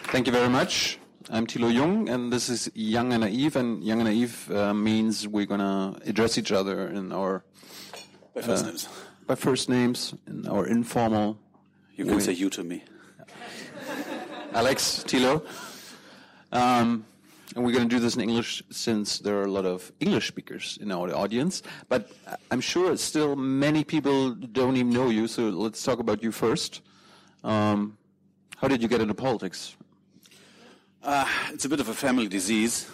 Thank you very much. I'm Thilo Jung, and this is Young and Naive. And Young and Naive means we're going to address each other in our... By first names. By first names, in our informal... You can say you to me. Alex, Thilo. And we're going to do this in English since there are a lot of English speakers in our audience. But I'm sure still many people don't even know you, so let's talk about you first. How did you get into politics? It's a bit of a family disease.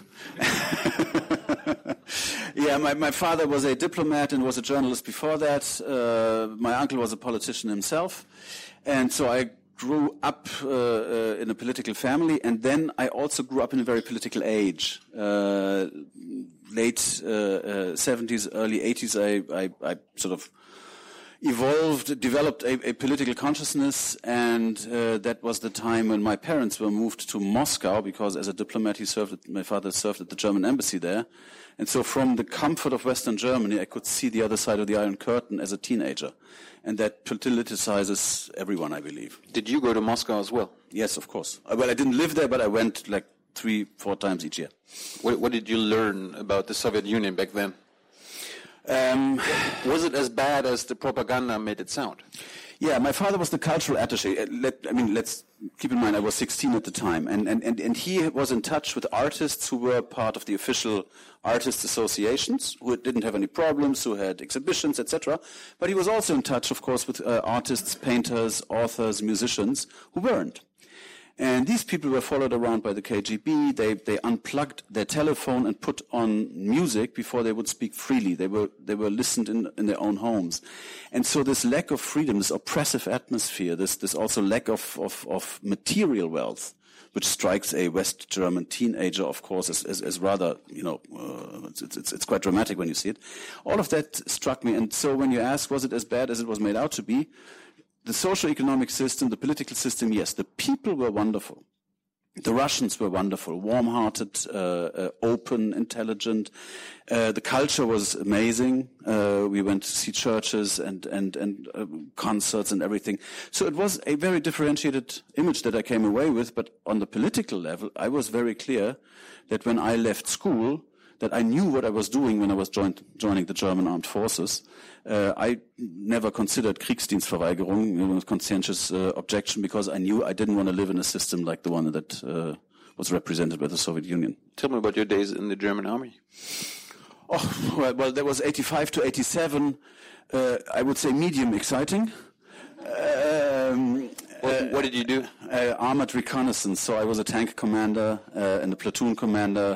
Yeah, my father was a diplomat and was a journalist before that. My uncle was a politician himself. And so I grew up in a political family, and then I also grew up in a very political age. Late 70s, early 80s, I sort of developed a political consciousness, and that was the time when my parents were moved to Moscow, because as a diplomat my father served at the German embassy there. And so from the comfort of Western Germany, I could see the other side of the Iron Curtain as a teenager. And that politicizes everyone, I believe. Did you go to Moscow as well? Yes, of course. Well, I didn't live there, but I went like 3-4 times each year. What did you learn about the Soviet Union back then? Was it as bad as the propaganda made it sound? Yeah, my father was the cultural attaché. Let's keep in mind I was 16 at the time, and he was in touch with artists who were part of the official artists associations, who didn't have any problems, who had exhibitions, etc. But he was also in touch, of course, with artists, painters, authors, musicians who weren't. And these people were followed around by the KGB. They unplugged their telephone and put on music before they would speak freely. They were listened in their own homes. And so this lack of freedom, this oppressive atmosphere, this also lack of material wealth, which strikes a West German teenager, of course, as rather, it's quite dramatic when you see it. All of that struck me. And so when you ask, was it as bad as it was made out to be? The socio-economic system, the political system, yes. The people were wonderful. The Russians were wonderful, warm-hearted, open, intelligent. The culture was amazing. We went to see churches and concerts and everything. So it was a very differentiated image that I came away with. But on the political level, I was very clear that when I left school, that I knew what I was doing when I was joining the German armed forces. I never considered Kriegsdienstverweigerung, conscientious objection, because I knew I didn't want to live in a system like the one that was represented by the Soviet Union. Tell me about your days in the German army. Oh, well, that was 85 to 87. I would say medium exciting. What did you do? Armored reconnaissance. So I was a tank commander and a platoon commander.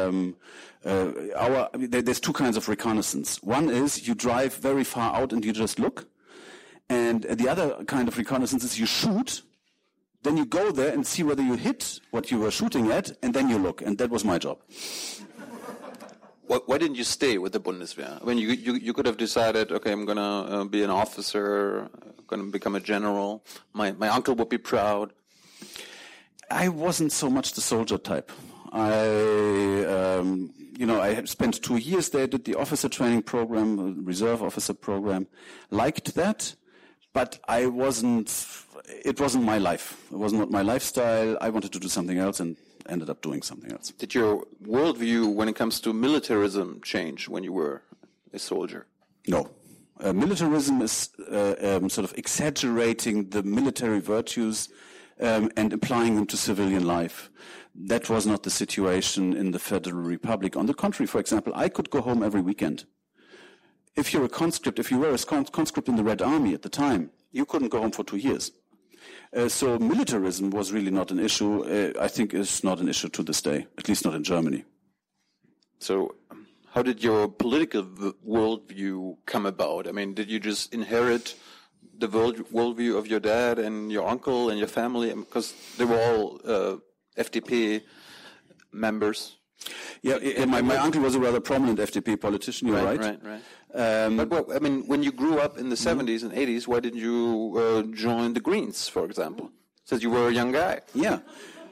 There's two kinds of reconnaissance. One is you drive very far out and you just look. And the other kind of reconnaissance is you shoot, then you go there and see whether you hit what you were shooting at, and then you look. And that was my job. Why didn't you stay with the Bundeswehr? I mean, you could have decided, okay, I'm going to be an officer, going to become a general. My uncle would be proud. I wasn't so much the soldier type. I had spent 2 years there, did the officer training program, reserve officer program, liked that, but it wasn't my life. It was not my lifestyle. I wanted to do something else and ended up doing something else. Did your worldview when it comes to militarism change when you were a soldier? No. Militarism is sort of exaggerating the military virtues and applying them to civilian life. That was not the situation in the Federal Republic. On the contrary, for example, I could go home every weekend. If you're a conscript, if you were a conscript in the Red Army at the time, you couldn't go home for 2 years. So militarism was really not an issue. I think it's not an issue to this day, at least not in Germany. So how did your political worldview come about? I mean, did you just inherit the worldview of your dad and your uncle and your family? Because they were all FDP members. Yeah, my uncle was a rather prominent FDP politician, you're right. Right. But I mean, when you grew up in the 70s and 80s, why didn't you join the Greens, for example? Since you were a young guy. Yeah.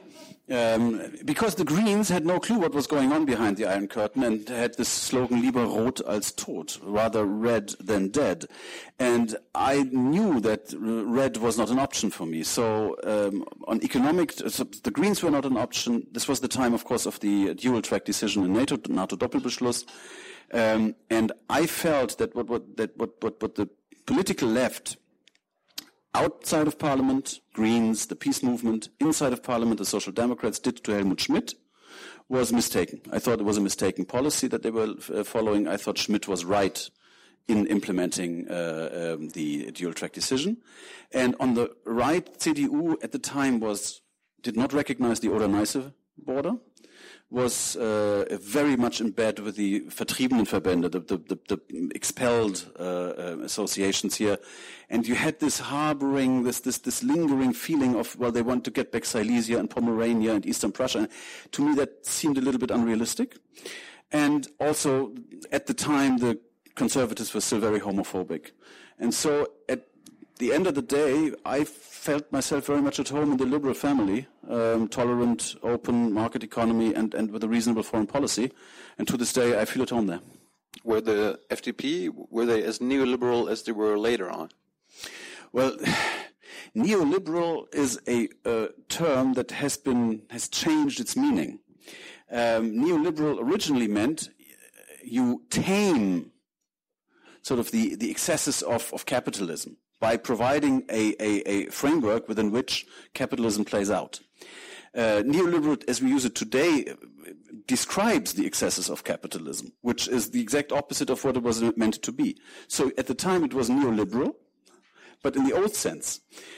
Because the Greens had no clue what was going on behind the Iron Curtain and had this slogan, lieber rot als tot, rather red than dead. And I knew that red was not an option for me. So on economic, so the Greens were not an option. This was the time, of course, of the dual-track decision in NATO Doppelbeschluss. And I felt that what the political left outside of Parliament, Greens, the peace movement, inside of Parliament, the Social Democrats did to Helmut Schmidt was mistaken. I thought it was a mistaken policy that they were following. I thought Schmidt was right in implementing the dual-track decision. And on the right, CDU at the time did not recognize the Oder-Neiße border, was very much in bed with the Vertriebenenverbände, the expelled associations here. And you had this harboring, this lingering feeling of, well, they want to get back Silesia and Pomerania and Eastern Prussia. And to me, that seemed a little bit unrealistic. And also, at the time, the conservatives were still very homophobic. And so, at the end of the day, I felt myself very much at home in the liberal family, tolerant, open market economy, and with a reasonable foreign policy. And to this day, I feel at home there. Were the FDP, were they as neoliberal as they were later on? Well, neoliberal is a term that has changed its meaning. Neoliberal originally meant you tame sort of the excesses of capitalism by providing a framework within which capitalism plays out. Neoliberal, as we use it today, describes the excesses of capitalism, which is the exact opposite of what it was meant to be. So at the time it was neoliberal, but in the old sense.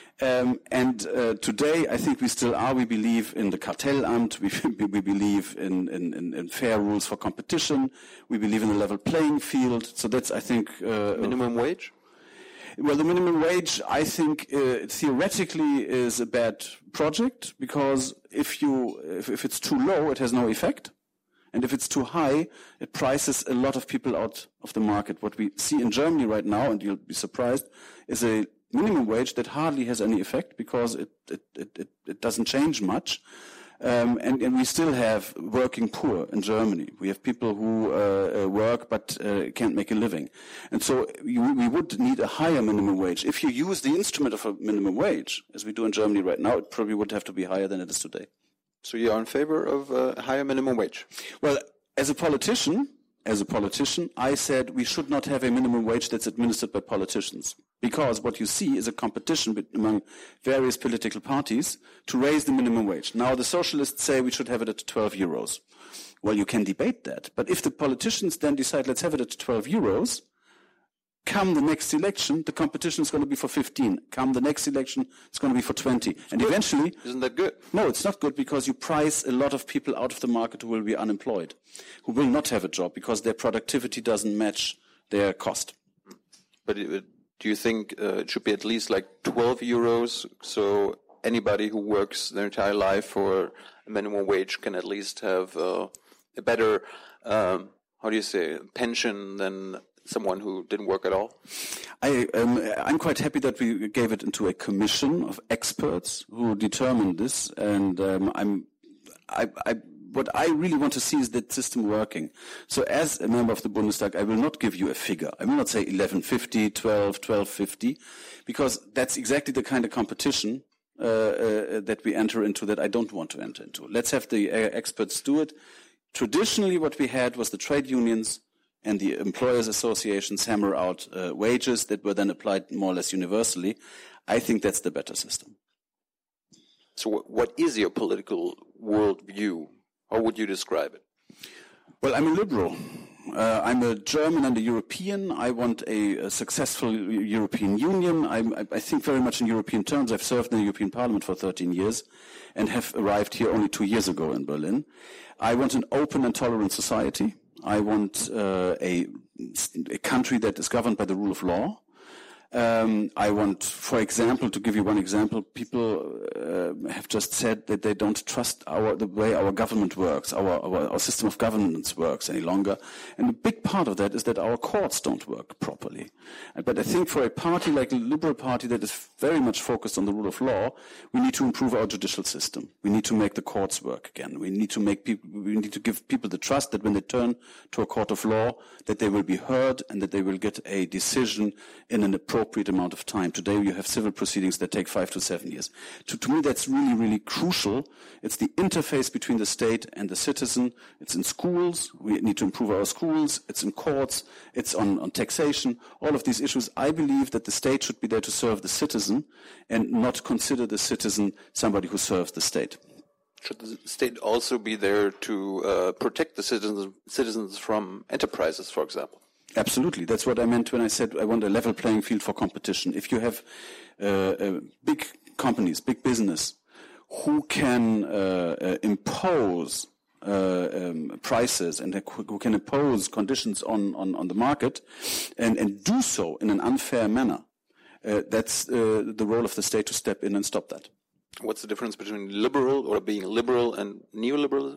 Today, I think we still are. We believe in the Kartellamt. We believe in fair rules for competition. We believe in a level playing field. So that's, I think... minimum wage? Well, the minimum wage, I think, theoretically is a bad project, because if it's too low, it has no effect. And if it's too high, it prices a lot of people out of the market. What we see in Germany right now, and you'll be surprised, is a minimum wage that hardly has any effect, because it doesn't change much. And we still have working poor in Germany. We have people who work but can't make a living. And so we would need a higher minimum wage. If you use the instrument of a minimum wage, as we do in Germany right now, it probably would have to be higher than it is today. So you're in favor of a higher minimum wage? Well, as a politician, I said we should not have a minimum wage that's administered by politicians. Because what you see is a competition among various political parties to raise the minimum wage. Now, the socialists say we should have it at 12 euros. Well, you can debate that. But if the politicians then decide, let's have it at 12 euros, come the next election, the competition is going to be for 15. Come the next election, it's going to be for 20. And good. Eventually... Isn't that good? No, it's not good, because you price a lot of people out of the market who will be unemployed, who will not have a job because their productivity doesn't match their cost. But do you think it should be at least like 12 euros, so anybody who works their entire life for a minimum wage can at least have a better, pension than someone who didn't work at all? I'm quite happy that we gave it into a commission of experts who determined this, and what I really want to see is that system working. So as a member of the Bundestag, I will not give you a figure. I will not say 11.50, 12.50, because that's exactly the kind of competition that we enter into that I don't want to enter into. Let's have the experts do it. Traditionally, what we had was the trade unions and the employers' associations hammer out wages that were then applied more or less universally. I think that's the better system. So what is your political worldview? How would you describe it? Well, I'm a liberal. I'm a German and a European. I want a successful European Union. I think very much in European terms. I've served in the European Parliament for 13 years and have arrived here only 2 years ago in Berlin. I want an open and tolerant society. I want a country that is governed by the rule of law. I want, for example, to give you one example, people have just said that they don't trust the way our government works, our system of governance works any longer. And a big part of that is that our courts don't work properly. But I think for a party like the Liberal Party that is very much focused on the rule of law, we need to improve our judicial system. We need to make the courts work again. We need to give people the trust that when they turn to a court of law, that they will be heard and that they will get a decision in an appropriate amount of time. Today you have civil proceedings that take 5 to 7 years. To me that's really, really crucial. It's the interface between the state and the citizen. It's in schools. We need to improve our schools. It's in courts. It's on taxation. All of these issues. I believe that the state should be there to serve the citizen and not consider the citizen somebody who serves the state. Should the state also be there to protect the citizens from enterprises, for example? Absolutely. That's what I meant when I said I want a level playing field for competition. If you have big companies, big business, who can impose prices and who can impose conditions on the market and do so in an unfair manner, that's the role of the state to step in and stop that. What's the difference between liberal or being liberal and neoliberalism?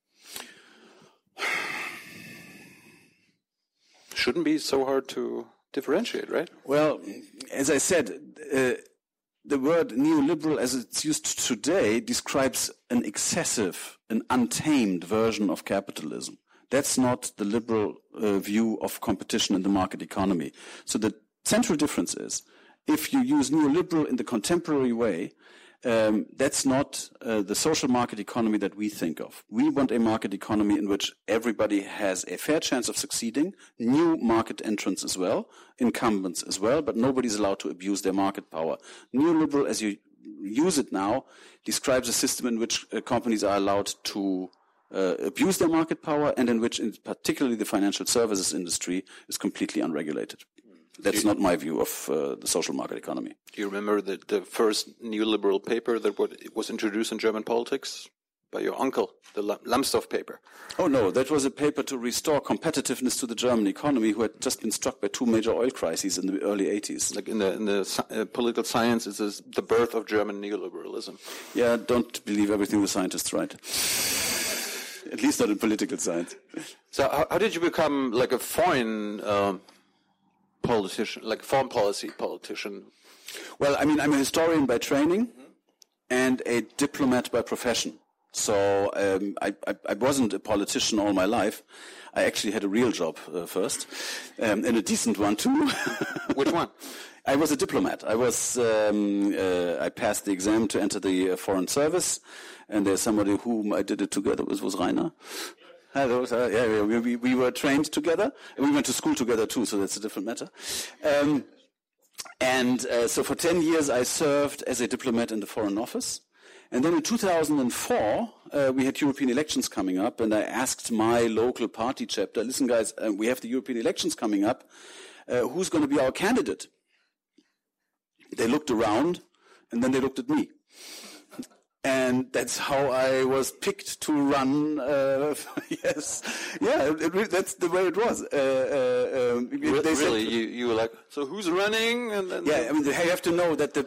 Shouldn't be so hard to differentiate, right? Well, as I said, the word neoliberal as it's used today describes an excessive, an untamed version of capitalism. That's not the liberal view of competition in the market economy. So the central difference is, if you use neoliberal in the contemporary way, that's not the social market economy that we think of. We want a market economy in which everybody has a fair chance of succeeding, new market entrants as well, incumbents as well, but nobody's allowed to abuse their market power. Neoliberal, as you use it now, describes a system in which companies are allowed to abuse their market power and in which particularly the financial services industry is completely unregulated. That's not my view of the social market economy. Do you remember the first neoliberal paper that was introduced in German politics by your uncle, the Lambsdorff paper? Oh, no, that was a paper to restore competitiveness to the German economy, who had just been struck by 2 major oil crises in the early 80s. Like in the political science, it is the birth of German neoliberalism. Yeah, don't believe everything the scientists write. At least not in political science. So how did you become like a foreign politician, like foreign policy politician? Well, I mean, I'm a historian by training and a diplomat by profession. So I wasn't a politician all my life. I actually had a real job first, and a decent one too. Which one? I was a diplomat. I passed the exam to enter the foreign service, and there's somebody whom I did it together with was Rainer. We were trained together, and we went to school together too, so that's a different matter. So for 10 years I served as a diplomat in the Foreign Office. And then in 2004, we had European elections coming up, and I asked my local party chapter, listen guys, we have the European elections coming up, who's going to be our candidate? They looked around, and then they looked at me. And that's how I was picked to run. Yes, yeah, that's the way it was. Really, you were like, so who's running? And then yeah, I mean, you have to know that the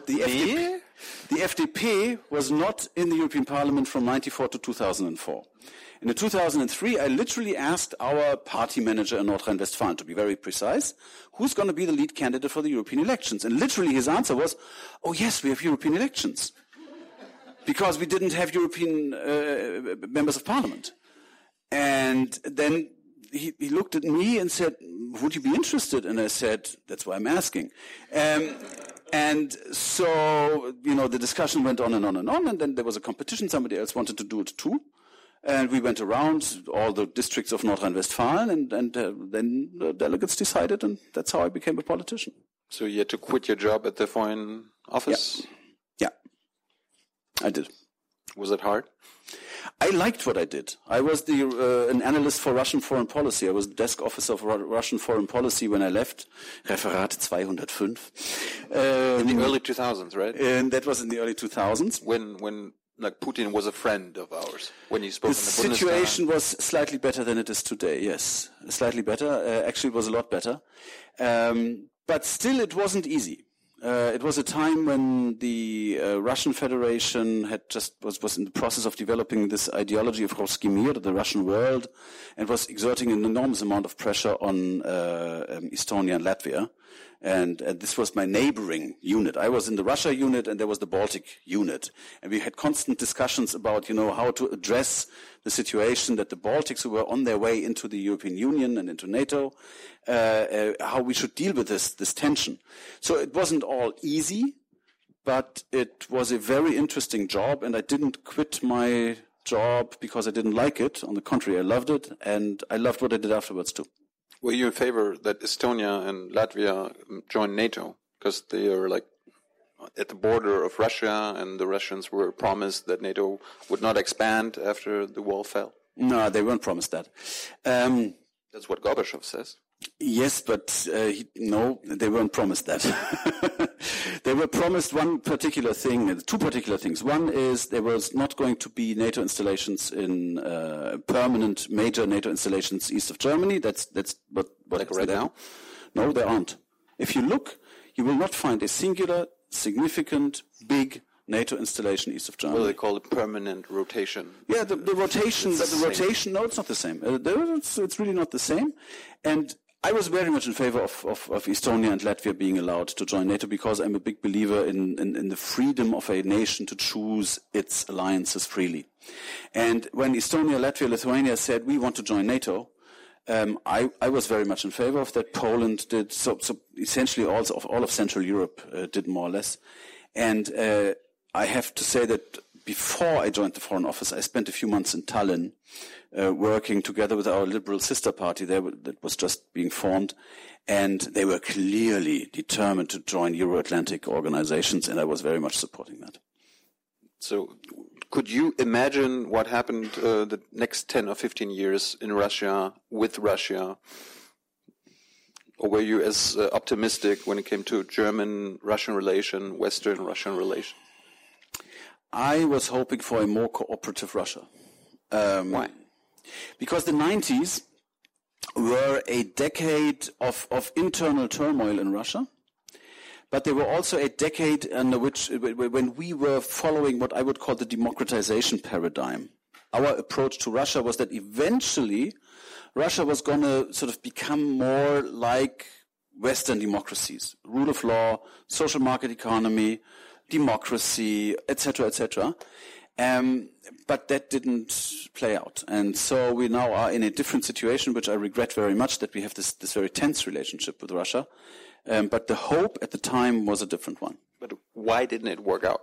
FDP was not in the European Parliament from 1994 to 2004. And in 2003, I literally asked our party manager in North Rhine-Westphalia, to be very precise, who's going to be the lead candidate for the European elections? And literally his answer was, oh yes, we have European elections. Because we didn't have European members of parliament. And then he looked at me and said, would you be interested? And I said, that's why I'm asking. And so, the discussion went on and on and on, and then there was a competition. Somebody else wanted to do it too. And we went around all the districts of North Rhine-Westphalia, and then the delegates decided, and that's how I became a politician. So you had to quit your job at the Foreign Office? Yeah. I did. Was it hard? I liked what I did. I was an analyst for Russian foreign policy. I was desk officer for Russian foreign policy when I left. Referat 205. In the early 2000s, right? And that was in the early 2000s. When like Putin was a friend of ours. When he spoke in the Bundestag. The situation was slightly better than it is today, yes. Slightly better. Actually, it was a lot better. But still, it wasn't easy. It was a time when the Russian Federation was in the process of developing this ideology of Ruski Mir, the Russian world, and was exerting an enormous amount of pressure on Estonia and Latvia. And this was my neighboring unit. I was in the Russia unit, and there was the Baltic unit. And we had constant discussions about, how to address the situation that the Baltics, who were on their way into the European Union and into NATO, how we should deal with this tension. So it wasn't all easy, but it was a very interesting job, and I didn't quit my job because I didn't like it. On the contrary, I loved it, and I loved what I did afterwards too. Were you in favor that Estonia and Latvia join NATO? Because they are at the border of Russia, and the Russians were promised that NATO would not expand after the wall fell. No, they weren't promised that. That's what Gorbachev says. Yes, but no, they weren't promised that. They were promised two particular things. One is there was not going to be NATO installations in permanent major NATO installations east of Germany. That's what right now? No, there aren't. If you look, you will not find a singular, significant, big NATO installation east of Germany. Well, they call it permanent rotation. Yeah, the rotation. Rotation. No, it's not the same. It's really not the same. And I was very much in favor of Estonia and Latvia being allowed to join NATO because I'm a big believer in the freedom of a nation to choose its alliances freely. And when Estonia, Latvia, Lithuania said we want to join NATO, I was very much in favor of that. Poland did. So essentially all of Central Europe did more or less. And I have to say that before I joined the Foreign Office, I spent a few months in Tallinn working together with our liberal sister party there that was just being formed. And they were clearly determined to join Euro-Atlantic organizations, and I was very much supporting that. So could you imagine what happened the next 10 or 15 years in Russia, with Russia? Or were you as optimistic when it came to German-Russian relation, Western-Russian relation? I was hoping for a more cooperative Russia. Why? Because the 90s were a decade of internal turmoil in Russia, but they were also a decade under which, when we were following what I would call the democratization paradigm. Our approach to Russia was that eventually Russia was going to sort of become more like Western democracies, rule of law, social market economy, democracy, etc., etc. But that didn't play out. And so we now are in a different situation, which I regret very much, that we have this very tense relationship with Russia. But the hope at the time was a different one. But why didn't it work out?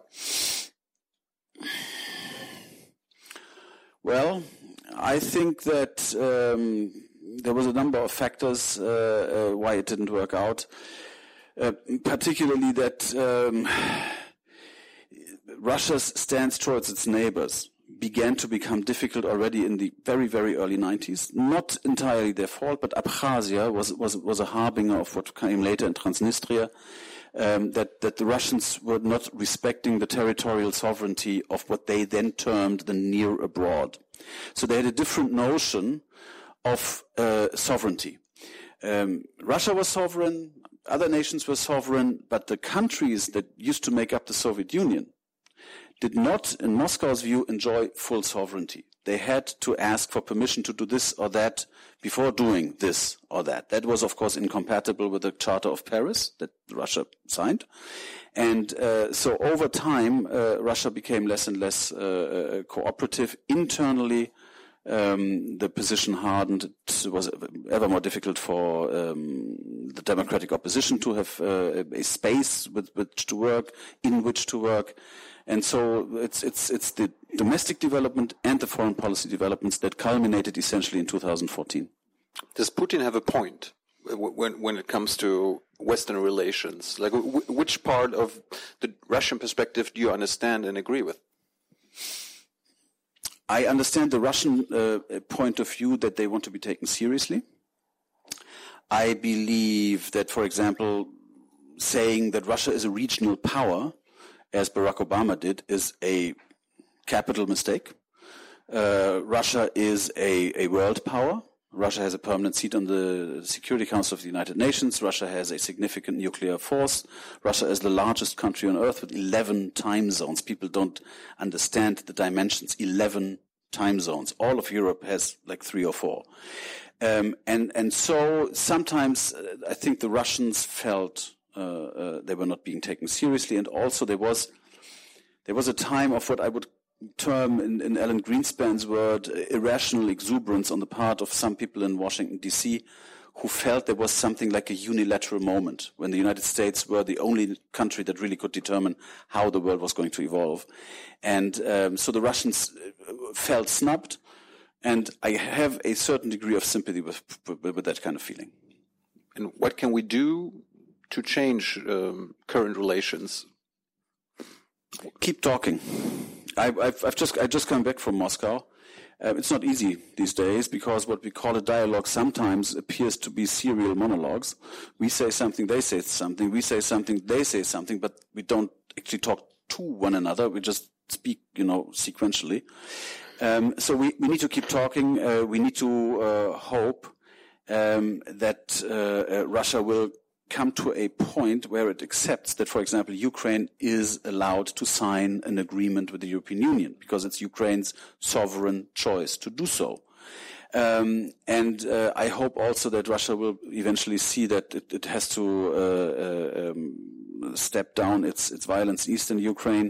Well, I think that there was a number of factors why it didn't work out. Particularly that Russia's stance towards its neighbors began to become difficult already in the very, very early 90s. Not entirely their fault, but Abkhazia was a harbinger of what came later in Transnistria, that the Russians were not respecting the territorial sovereignty of what they then termed the near abroad. So they had a different notion of sovereignty. Russia was sovereign, other nations were sovereign, but the countries that used to make up the Soviet Union did not, in Moscow's view, enjoy full sovereignty. They had to ask for permission to do this or that before doing this or that. That was, of course, incompatible with the Charter of Paris that Russia signed. And so over time, Russia became less and less cooperative internally. The position hardened. It was ever more difficult for the democratic opposition to have a space with which to work, in which to work. And so it's the domestic development and the foreign policy developments that culminated essentially in 2014. Does Putin have a point when it comes to Western relations? Like, which part of the Russian perspective do you understand and agree with? I understand the Russian point of view that they want to be taken seriously. I believe that, for example, saying that Russia is a regional power, as Barack Obama did, is a capital mistake. Russia is a world power, Russia has a permanent seat on the Security Council of the United Nations. Russia has a significant nuclear force. Russia is the largest country on earth with 11 time zones. People don't understand the dimensions. 11 time zones. All of Europe has like 3 or 4. And so sometimes I think the Russians felt they were not being taken seriously, and also there was a time of what I would term in Alan Greenspan's word irrational exuberance on the part of some people in Washington D.C. who felt there was something like a unilateral moment when the United States were the only country that really could determine how the world was going to evolve, and so the Russians felt snubbed. And I have a certain degree of sympathy with that kind of feeling. And what can we do to change current relations? Keep talking. I just come back from Moscow. It's not easy these days because what we call a dialogue sometimes appears to be serial monologues. We say something, they say something. We say something, they say something, but we don't actually talk to one another. We just speak, sequentially. So we need to keep talking. We need to hope that Russia will come to a point where it accepts that, for example, Ukraine is allowed to sign an agreement with the European Union because it's Ukraine's sovereign choice to do so. And I hope also that Russia will eventually see that it has to step down its violence in eastern Ukraine.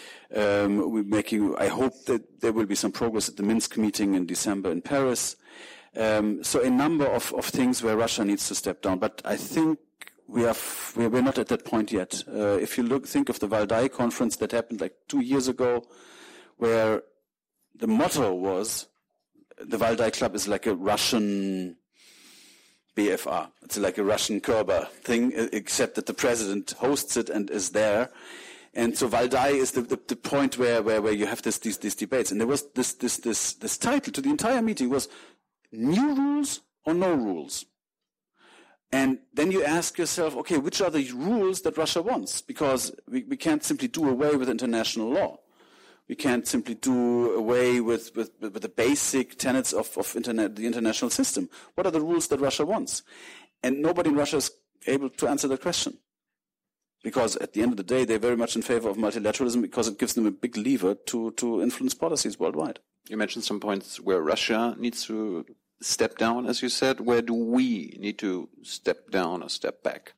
I hope that there will be some progress at the Minsk meeting in December in Paris. So a number of things where Russia needs to step down, but I think we're not at that point yet. If you think of the Valdai conference that happened like 2 years ago, where the motto was, the Valdai Club is like a Russian BFR. It's like a Russian Kerber thing, except that the president hosts it and is there. And so Valdai is the point where you have these debates. And there was this title to the entire meeting was New Rules or No Rules? And then you ask yourself, okay, which are the rules that Russia wants? Because we can't simply do away with international law. We can't simply do away with the basic tenets of the international system. What are the rules that Russia wants? And nobody in Russia is able to answer that question. Because at the end of the day, they're very much in favor of multilateralism because it gives them a big lever to influence policies worldwide. You mentioned some points where Russia needs to step down, as you said. Where do we need to step down or step back?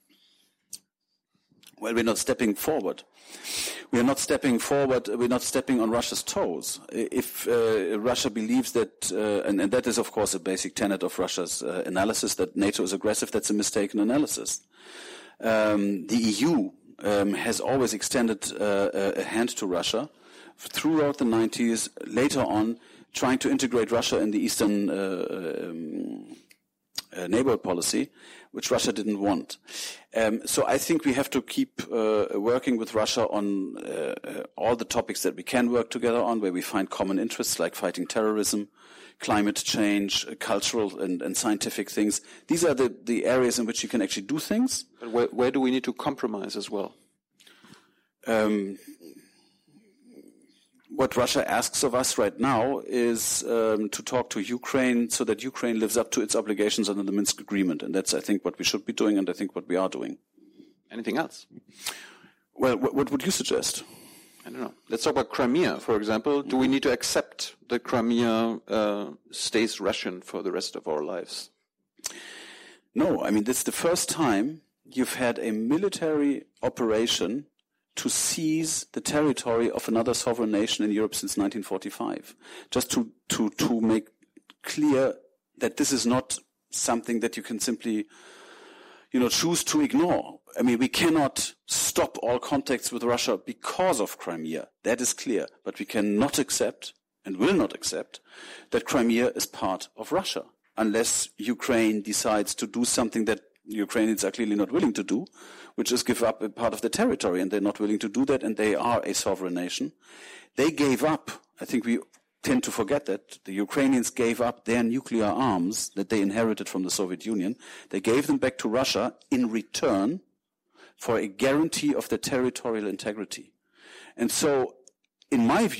Well, we're not stepping forward. We are not stepping forward. We're not stepping on Russia's toes. If Russia believes that, and that is, of course, a basic tenet of Russia's analysis, that NATO is aggressive, that's a mistaken analysis. The EU has always extended a hand to Russia throughout the 90s, later on, trying to integrate Russia in the Eastern neighborhood policy, which Russia didn't want. So I think we have to keep working with Russia on all the topics that we can work together on, where we find common interests like fighting terrorism, climate change, cultural and scientific things. These are the areas in which you can actually do things. But where do we need to compromise as well? What Russia asks of us right now is to talk to Ukraine so that Ukraine lives up to its obligations under the Minsk Agreement. And that's, I think, what we should be doing, and I think what we are doing. Anything else? Well, what would you suggest? I don't know. Let's talk about Crimea, for example. Do we need to accept that Crimea stays Russian for the rest of our lives? No. I mean, this is the first time you've had a military operation to seize the territory of another sovereign nation in Europe since 1945. Just to make clear that this is not something that you can simply, choose to ignore. I mean, we cannot stop all contacts with Russia because of Crimea. That is clear. But we cannot accept and will not accept that Crimea is part of Russia unless Ukraine decides to do something that Ukrainians are clearly not willing to do, which is give up a part of the territory, and they're not willing to do that, and they are a sovereign nation. They gave up, I think we tend to forget that, the Ukrainians gave up their nuclear arms that they inherited from the Soviet Union. They gave them back to Russia in return for a guarantee of their territorial integrity. And so, in my view,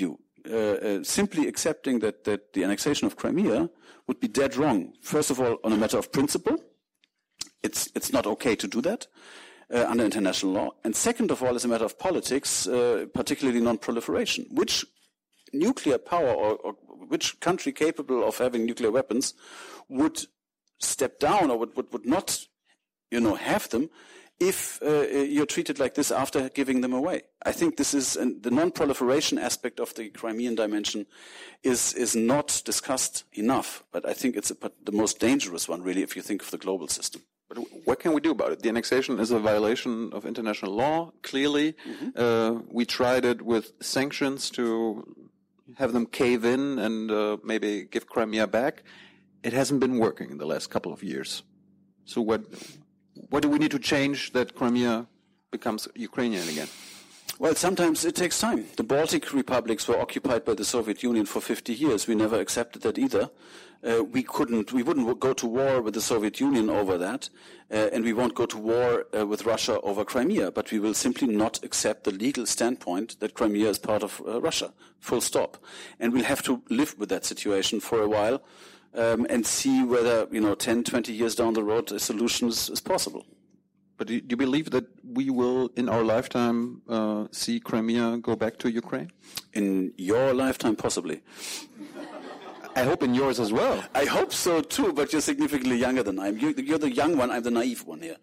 simply accepting that the annexation of Crimea would be dead wrong. First of all, on a matter of principle, it's not okay to do that under international law. And second of all, as a matter of politics, particularly non-proliferation. Which nuclear power or which country capable of having nuclear weapons would step down or would not, have them if you're treated like this after giving them away? I think this is the non-proliferation aspect of the Crimean dimension is not discussed enough. But I think it's the most dangerous one, really, if you think of the global system. But what can we do about it? The annexation is a violation of international law, clearly. Mm-hmm. We tried it with sanctions to have them cave in and maybe give Crimea back. It hasn't been working in the last couple of years. So what do we need to change that Crimea becomes Ukrainian again? Well, sometimes it takes time. The Baltic republics were occupied by the Soviet Union for 50 years. We never accepted that either. We wouldn't go to war with the Soviet Union over that, and we won't go to war with Russia over Crimea, but we will simply not accept the legal standpoint that Crimea is part of Russia, full stop. And we'll have to live with that situation for a while, and see whether, 10, 20 years down the road, a solution is possible. But do you believe that we will, in our lifetime, see Crimea go back to Ukraine? In your lifetime, possibly. I hope in yours as well. I hope so too, but you're significantly younger than I am. You're the young one, I'm the naive one here.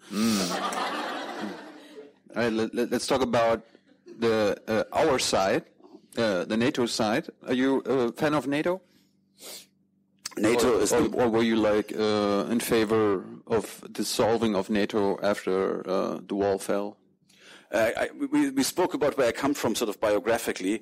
All right, let's talk about our side, the NATO side. Are you a fan of NATO? NATO or were you in favor of dissolving of NATO after the wall fell? We spoke about where I come from, sort of biographically.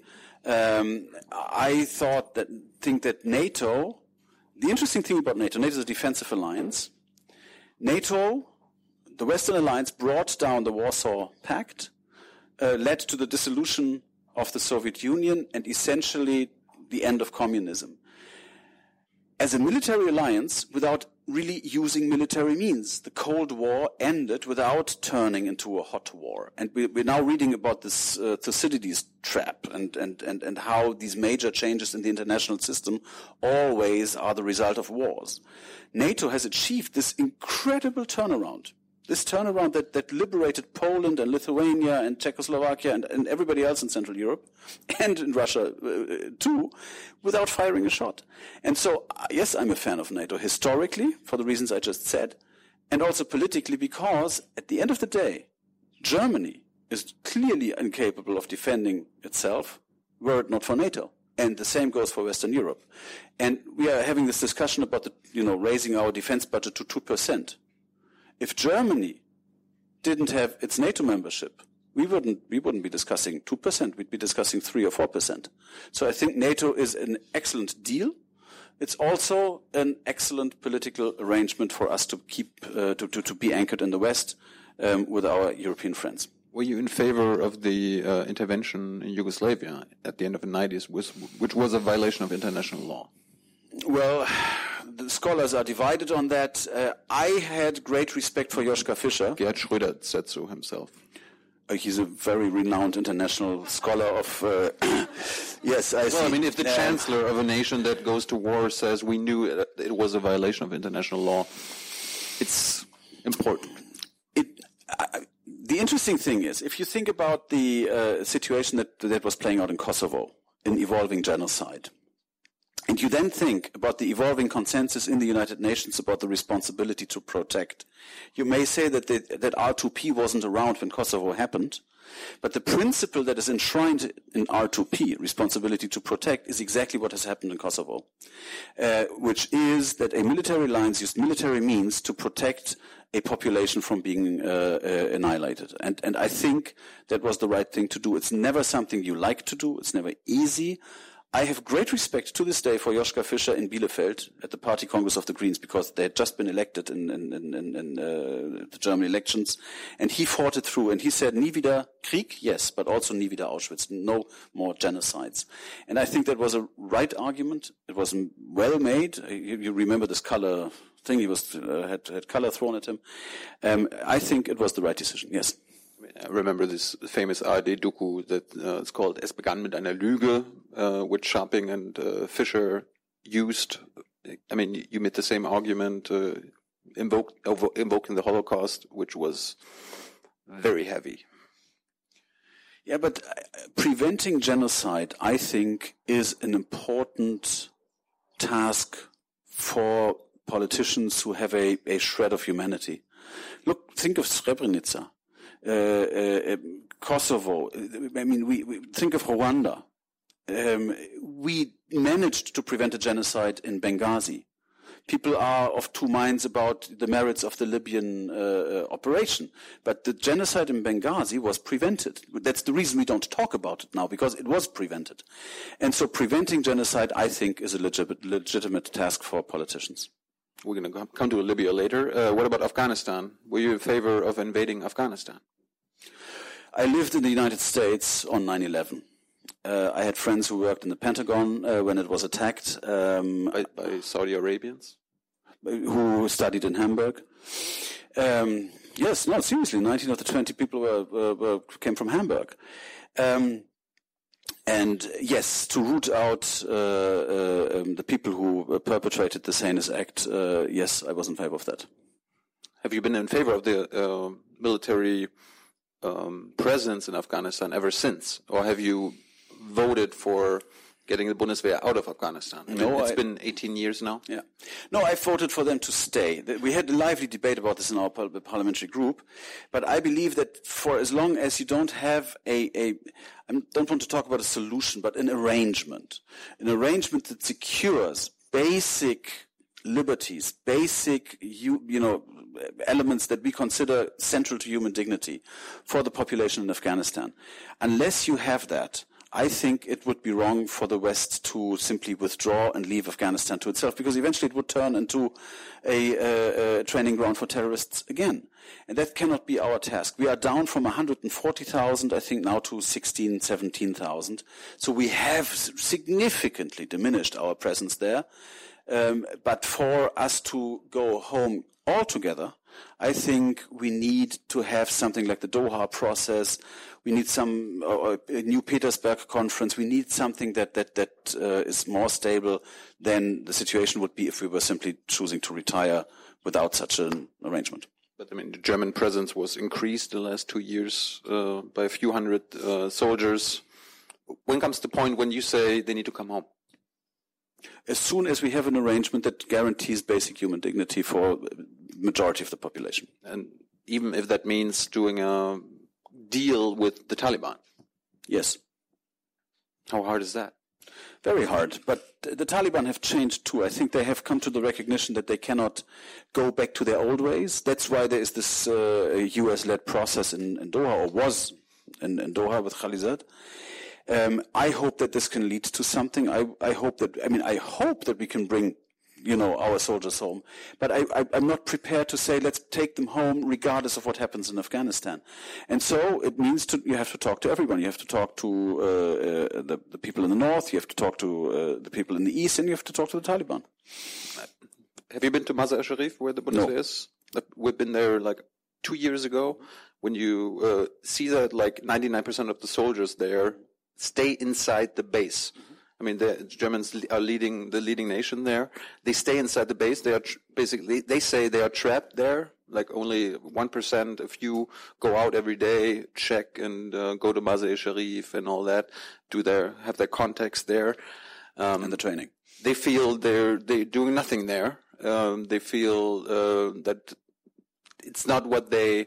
I think that NATO. The interesting thing about NATO is a defensive alliance. NATO, the Western Alliance, brought down the Warsaw Pact, led to the dissolution of the Soviet Union, and essentially the end of communism. As a military alliance, without really using military means, the Cold War ended without turning into a hot war. And we're now reading about this Thucydides trap and how these major changes in the international system always are the result of wars. NATO has achieved this incredible turnaround. This turnaround that liberated Poland and Lithuania and Czechoslovakia and everybody else in Central Europe and in Russia too, without firing a shot. And so, yes, I'm a fan of NATO historically, for the reasons I just said, and also politically because, at the end of the day, Germany is clearly incapable of defending itself were it not for NATO. And the same goes for Western Europe. And we are having this discussion about raising our defense budget to 2%. If Germany didn't have its NATO membership, we wouldn't be discussing 2%. We'd be discussing 3 or 4%. So I think NATO is an excellent deal. It's also an excellent political arrangement for us to keep to be anchored in the West with our European friends. Were you in favor of the intervention in Yugoslavia at the end of the 90s, which was a violation of international law? Well, the scholars are divided on that. I had great respect for Joschka Fischer. Gerhard Schröder said so himself. He's a very renowned international scholar of... yes, I see. Well, I mean, if the chancellor of a nation that goes to war says we knew it was a violation of international law, it's important. The interesting thing is, if you think about the situation that was playing out in Kosovo, in evolving genocide, and you then think about the evolving consensus in the United Nations about the responsibility to protect, you may say that R2P wasn't around when Kosovo happened, but the principle that is enshrined in R2P, responsibility to protect, is exactly what has happened in Kosovo, which is that a military alliance used military means to protect a population from being annihilated. And I think that was the right thing to do. It's never something you like to do. It's never easy. I have great respect to this day for Joschka Fischer in Bielefeld at the Party Congress of the Greens because they had just been elected in the German elections, and he fought it through. And he said, "Nie wieder Krieg, yes, but also nie wieder Auschwitz, no more genocides." And I think that was a right argument. It was well made. You remember this color thing? He was had color thrown at him. I think it was the right decision. Yes. I remember this famous ARD docu that it's called Es begann mit einer Lüge, which Scharping and Fischer used. I mean, you made the same argument, invoking the Holocaust, which was very heavy. Yeah, but preventing genocide, I think, is an important task for politicians who have a shred of humanity. Look, think of Srebrenica, Kosovo. I mean, we think of Rwanda. We managed to prevent a genocide in Benghazi. People are of two minds about the merits of the Libyan operation, but the genocide in Benghazi was prevented. That's the reason we don't talk about it now, because it was prevented. And so preventing genocide, I think, is a legitimate task for politicians. We're going to come to Libya later. What about Afghanistan? Were you in favor of invading Afghanistan? I lived in the United States on 9/11. I had friends who worked in the Pentagon when it was attacked. By Saudi Arabians? Who studied in Hamburg. Yes, no, seriously, 19 of the 20 people came from Hamburg. And yes, to root out the people who perpetrated the heinous act, yes, I was in favor of that. Have you been in favor of the military presence in Afghanistan ever since? Or have you voted for getting the Bundeswehr out of Afghanistan? It's been 18 years now. Yeah. No, I voted for them to stay. We had a lively debate about this in our parliamentary group, but I believe that for as long as you don't have I don't want to talk about a solution, but an arrangement that secures basic liberties, basic, elements that we consider central to human dignity for the population in Afghanistan. Unless you have that, I think it would be wrong for the West to simply withdraw and leave Afghanistan to itself, because eventually it would turn into a training ground for terrorists again. And that cannot be our task. We are down from 140,000, I think, now to 16,000, 17,000. So we have significantly diminished our presence there. But for us to go home altogether, I think we need to have something like the Doha process. We need some a New Petersburg conference. We need something that is more stable than the situation would be if we were simply choosing to retire without such an arrangement. But I mean, the German presence was increased in the last 2 years by a few hundred soldiers. When comes the point when you say they need to come home? As soon as we have an arrangement that guarantees basic human dignity for the majority of the population. And even if that means doing a deal with the Taliban? Yes. How hard is that? Very hard. But the Taliban have changed too. I think they have come to the recognition that they cannot go back to their old ways. That's why there is this US-led process in Doha, or was in Doha with Khalizad. I hope that this can lead to something. I hope that we can bring, our soldiers home. But I'm not prepared to say let's take them home regardless of what happens in Afghanistan. And so it means you have to talk to everyone. You have to talk to the people in the north. You have to talk to the people in the east, and you have to talk to the Taliban. Have you been to Mazar-e-Sharif, where the Bundeswehr is? We've been there like 2 years ago. When you see that like 99% of the soldiers there stay inside the base. I mean, the Germans are the leading nation there. They stay inside the base. They are they say they are trapped there. Like only 1%, a few go out every day, check and go to Mazar-e-Sharif and all that. Have their contacts there. And the training. They feel they're doing nothing there. They feel that it's not what they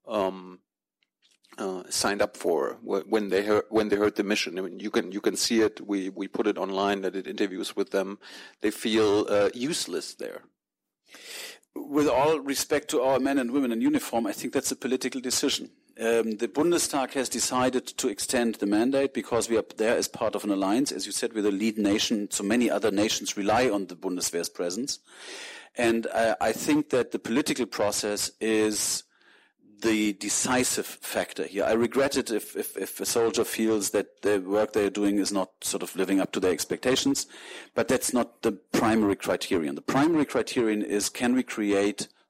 signed up for when they heard the mission. I mean, you can see it. We put it online. I did interviews with them. They feel useless there. With all respect to our men and women in uniform, I think that's a political decision. The Bundestag has decided to extend the mandate because we are there as part of an alliance. As you said, we're the lead nation, so many other nations rely on the Bundeswehr's presence. And I think that the political process is the decisive factor here. I regret it if a soldier feels that the work they're doing is not sort of living up to their expectations, but that's not the primary criterion. The primary criterion is, can we create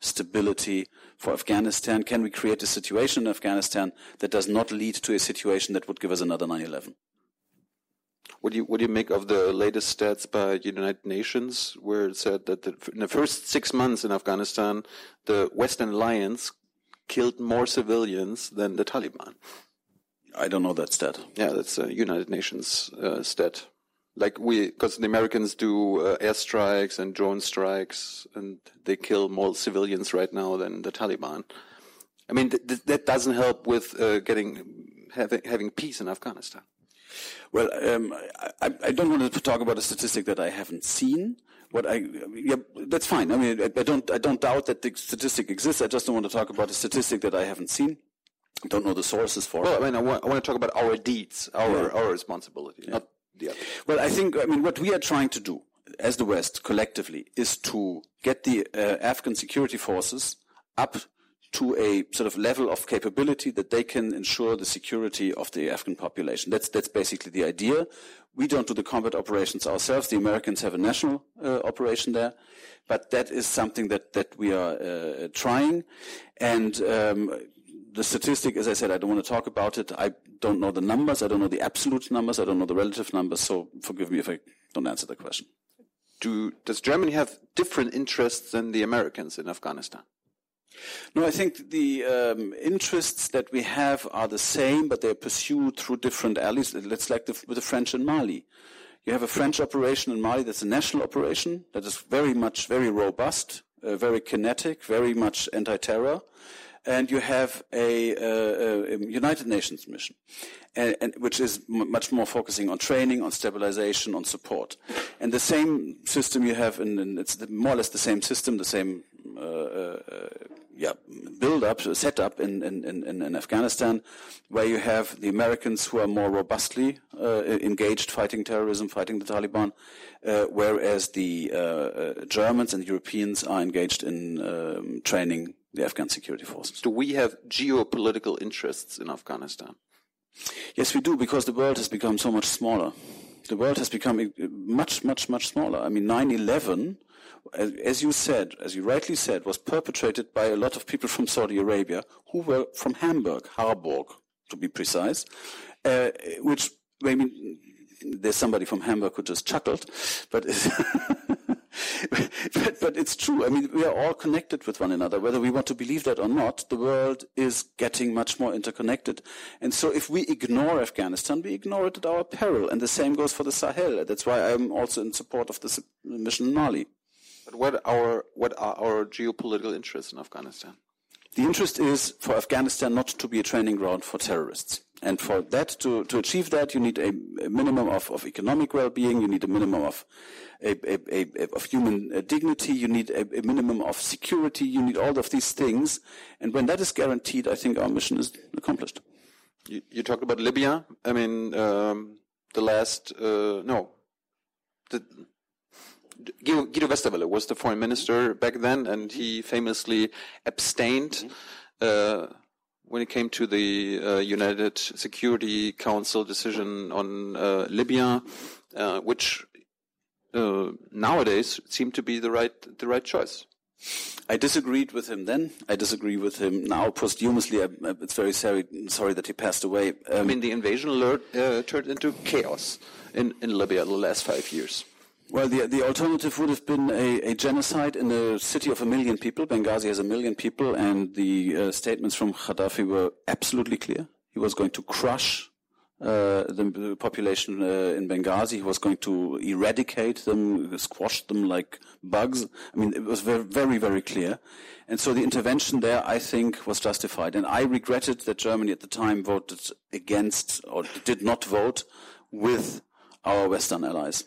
stability for Afghanistan? Can we create a situation in Afghanistan that does not lead to a situation that would give us another 9/11? What do you make of the latest stats by United Nations, where it said that in the first 6 months in Afghanistan, the Western Alliance killed more civilians than the Taliban? I don't know that stat. Yeah, that's a United Nations stat. Because the Americans do airstrikes and drone strikes, and they kill more civilians right now than the Taliban. I mean, that doesn't help with having peace in Afghanistan. Well, I don't want to talk about a statistic that I haven't seen. That's fine. I mean, I don't doubt that the statistic exists. I just don't want to talk about a statistic that I haven't seen. I don't know the sources for it. Well, I mean, I want to talk about our deeds, our responsibility, not the other. Well, what we are trying to do as the West collectively is to get the Afghan security forces up to a sort of level of capability that they can ensure the security of the Afghan population. That's basically the idea. We don't do the combat operations ourselves. The Americans have a national operation there, but that is something that we are trying. And the statistic, as I said, I don't want to talk about it. I don't know the numbers. I don't know the absolute numbers. I don't know the relative numbers. So forgive me if I don't answer the question. Does Germany have different interests than the Americans in Afghanistan? No, I think the interests that we have are the same, but they're pursued through different alleys. It's like with the French in Mali. You have a French operation in Mali that's a national operation that is very robust, very kinetic, very much anti-terror. And you have a United Nations mission, and which is much more focusing on training, on stabilization, on support. And the same system you have it's more or less the same system, the same build-up, set-up in Afghanistan, where you have the Americans who are more robustly engaged fighting terrorism, fighting the Taliban, whereas the Germans and Europeans are engaged in training the Afghan security forces. Do we have geopolitical interests in Afghanistan? Yes, we do, because the world has become so much smaller. The world has become much, much, much smaller. I mean, 9/11, as you rightly said, was perpetrated by a lot of people from Saudi Arabia who were from Hamburg, Harburg, to be precise, which, I mean, there's somebody from Hamburg who just chuckled, but but it's true. I mean, we are all connected with one another. Whether we want to believe that or not, the world is getting much more interconnected. And so if we ignore Afghanistan, we ignore it at our peril. And the same goes for the Sahel. That's why I'm also in support of this mission in Mali. But what are our geopolitical interests in Afghanistan? The interest is for Afghanistan not to be a training ground for terrorists. And for that, to achieve that, you need a minimum of economic well-being. You need a minimum of human dignity. You need a minimum of security. You need all of these things. And when that is guaranteed, I think our mission is accomplished. You talked about Libya. I mean, Guido Westerwelle was the foreign minister back then, and he famously abstained when it came to the United Security Council decision on Libya, which nowadays seemed to be the right choice. I disagreed with him then. I disagree with him now posthumously. It's very sorry that he passed away. I mean, the invasion turned into chaos in Libya the last 5 years. Well, the alternative would have been a genocide in a city of 1 million people. Benghazi has 1 million people, and the statements from Gaddafi were absolutely clear. He was going to crush the population in Benghazi. He was going to eradicate them, squash them like bugs. I mean, it was very, very, very clear. And so the intervention there, I think, was justified. And I regretted that Germany at the time voted against, or did not vote with our Western allies.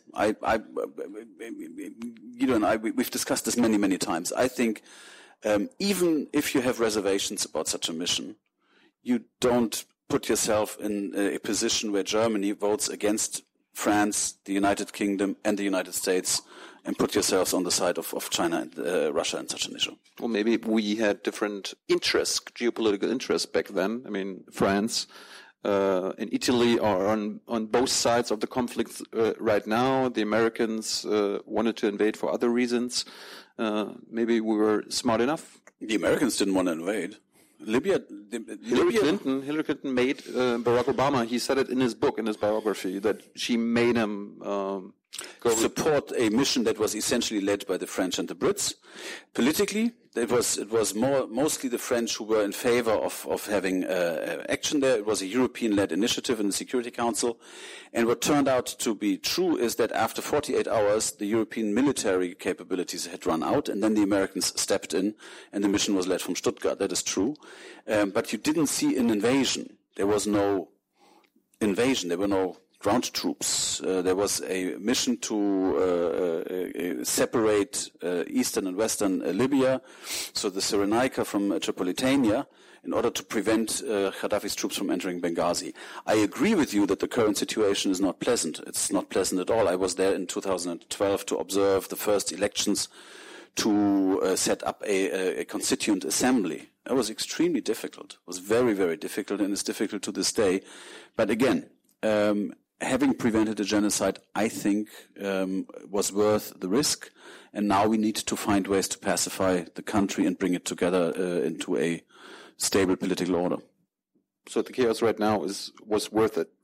Guido and I, we've discussed this many, many times. I think even if you have reservations about such a mission, you don't put yourself in a position where Germany votes against France, the United Kingdom, and the United States, and put yourselves on the side of China and Russia in such an issue. Well, maybe we had different interests, geopolitical interests back then. I mean, France and Italy are on both sides of the conflict right now. The Americans wanted to invade for other reasons. Maybe we were smart enough The Americans didn't want to invade. Hillary Clinton made Barack Obama. He said it in his book, in his biography, that she made him go support a mission that was essentially led by the French and the Brits. Politically, it was mostly the French who were in favor of having action there. It was a European-led initiative in the Security Council. And what turned out to be true is that after 48 hours, the European military capabilities had run out, and then the Americans stepped in, and the mission was led from Stuttgart. That is true. But you didn't see an invasion. There was no invasion. There were no ground troops. There was a mission to separate eastern and western Libya, so the Cyrenaica from Tripolitania, in order to prevent Gaddafi's troops from entering Benghazi. I agree with you that the current situation is not pleasant. It's not pleasant at all. I was there in 2012 to observe the first elections to set up a constituent assembly. It was extremely difficult. It was very, very difficult, and it's difficult to this day. But again, having prevented a genocide, I think, was worth the risk. And now we need to find ways to pacify the country and bring it together into a stable political order. So the chaos right now was worth it?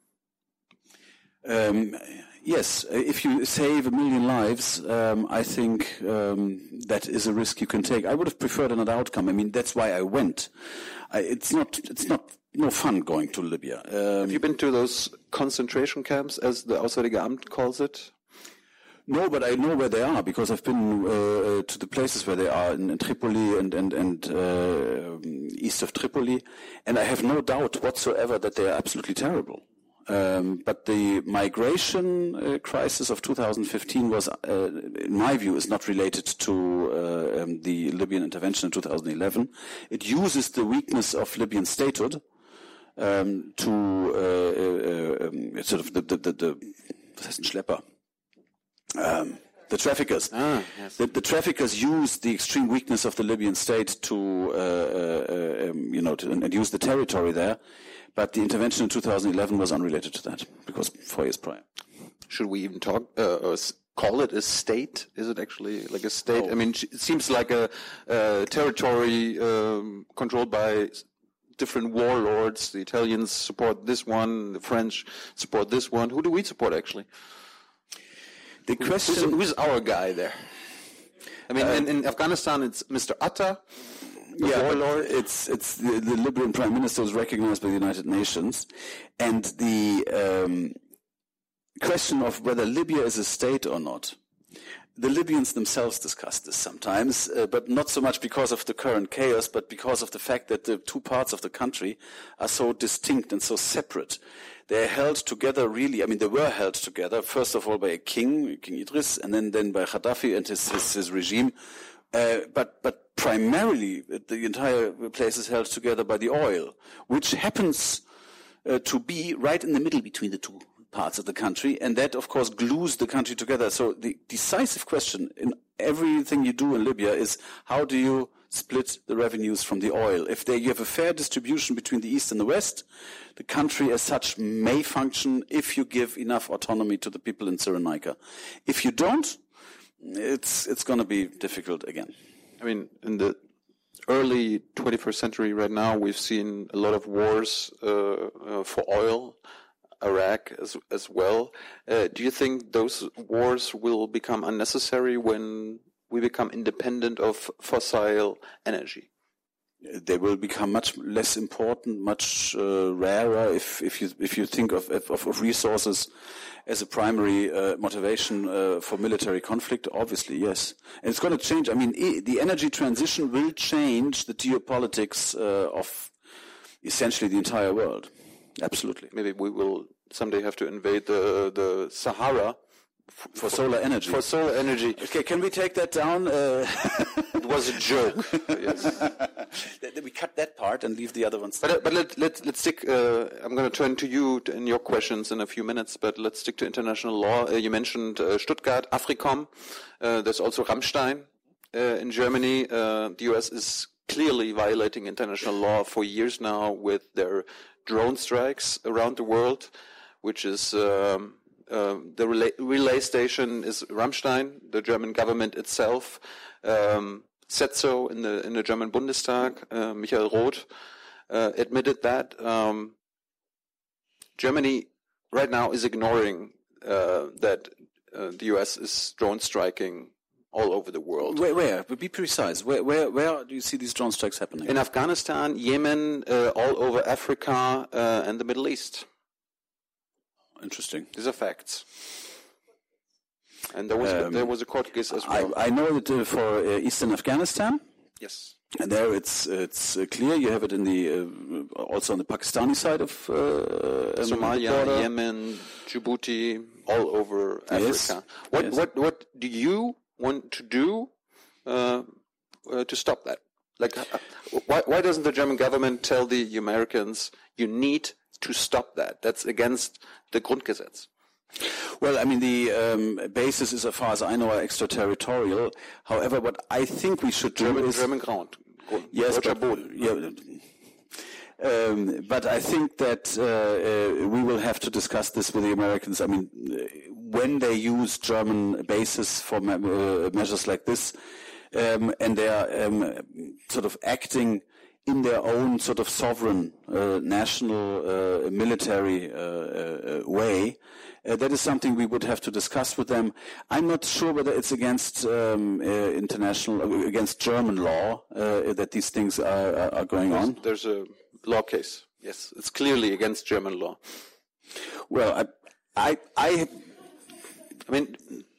Yes. If you save 1 million lives, I think that is a risk you can take. I would have preferred another outcome. I mean, that's why I went. It's not no fun going to Libya. Have you been to those concentration camps, as the Auswärtige Amt calls it? No, but I know where they are because I've been to the places where they are in Tripoli and east of Tripoli, and I have no doubt whatsoever that they are absolutely terrible. But the migration crisis of 2015 was, in my view, is not related to the Libyan intervention in 2011. It uses the weakness of Libyan statehood to sort of the was heißt ein Schlepper? The traffickers. Yes. The traffickers use the extreme weakness of the Libyan state to use the territory there. But the intervention in 2011 was unrelated to that, because 4 years prior. Should we even call it a state? Is it actually like a state? Oh. I mean, it seems like a territory controlled by different warlords. The Italians support this one, the French support this one. Who do we support, actually? The question... Who's our guy there? I mean, in Afghanistan, it's Mr. Atta. Warlord. It's the Libyan Prime Minister is recognized by the United Nations, and the question of whether Libya is a state or not. The Libyans themselves discuss this sometimes, but not so much because of the current chaos, but because of the fact that the two parts of the country are so distinct and so separate. They're held together really, I mean, they were held together, first of all by a king, King Idris, and then by Gaddafi and his regime. But primarily, the entire place is held together by the oil, which happens to be right in the middle between the two parts of the country, and that, of course, glues the country together. So the decisive question in everything you do in Libya is, how do you split the revenues from the oil? If you have a fair distribution between the East and the West, the country as such may function if you give enough autonomy to the people in Cyrenaica. If you don't, it's going to be difficult again. I mean, in the early 21st century right now, we've seen a lot of wars for oil, Iraq as well. Do you think those wars will become unnecessary when we become independent of fossil energy? They will become much less important, much rarer if you think of resources as a primary motivation for military conflict. Obviously, yes, and it's going to change. I mean, the energy transition will change the geopolitics of essentially the entire world. Absolutely. Maybe we will someday have to invade the Sahara for solar energy. For solar energy. Okay, can we take that down? It was a joke. Yes. We cut that part and leave the other ones. But let's stick. I'm going to turn to you in your questions in a few minutes. But let's stick to international law. You mentioned Stuttgart, AFRICOM. There's also Rammstein in Germany. The U.S. is clearly violating international law for years now with their drone strikes around the world, which is the relay station is Rammstein. The German government itself said so in the German Bundestag. Michael Roth admitted that Germany right now is ignoring that the U.S. is drone striking all over the world. Where? Be precise. Where do you see these drone strikes happening? In Afghanistan, Yemen, all over Africa, and the Middle East. Interesting. These are facts. And there was a court case as well. I know that for Eastern Afghanistan. Yes. And there it's clear. You have it in the also on the Pakistani side of Somalia, Yemen, Djibouti, all over Africa. Yes. What do you want to do to stop that? Like, why doesn't the German government tell the Americans you need to stop that? That's against the Grundgesetz. Well, I mean, the basis is, as far as I know, are extraterritorial. However, what I think we should do is German ground. Yes, but I think that we will have to discuss this with the Americans. I mean, when they use German bases for measures like this, and they are sort of acting in their own sort of sovereign national military way, that is something we would have to discuss with them. I'm not sure whether it's against against German law that these things are going on. There's a law case. Yes, it's clearly against German law. Well, I mean,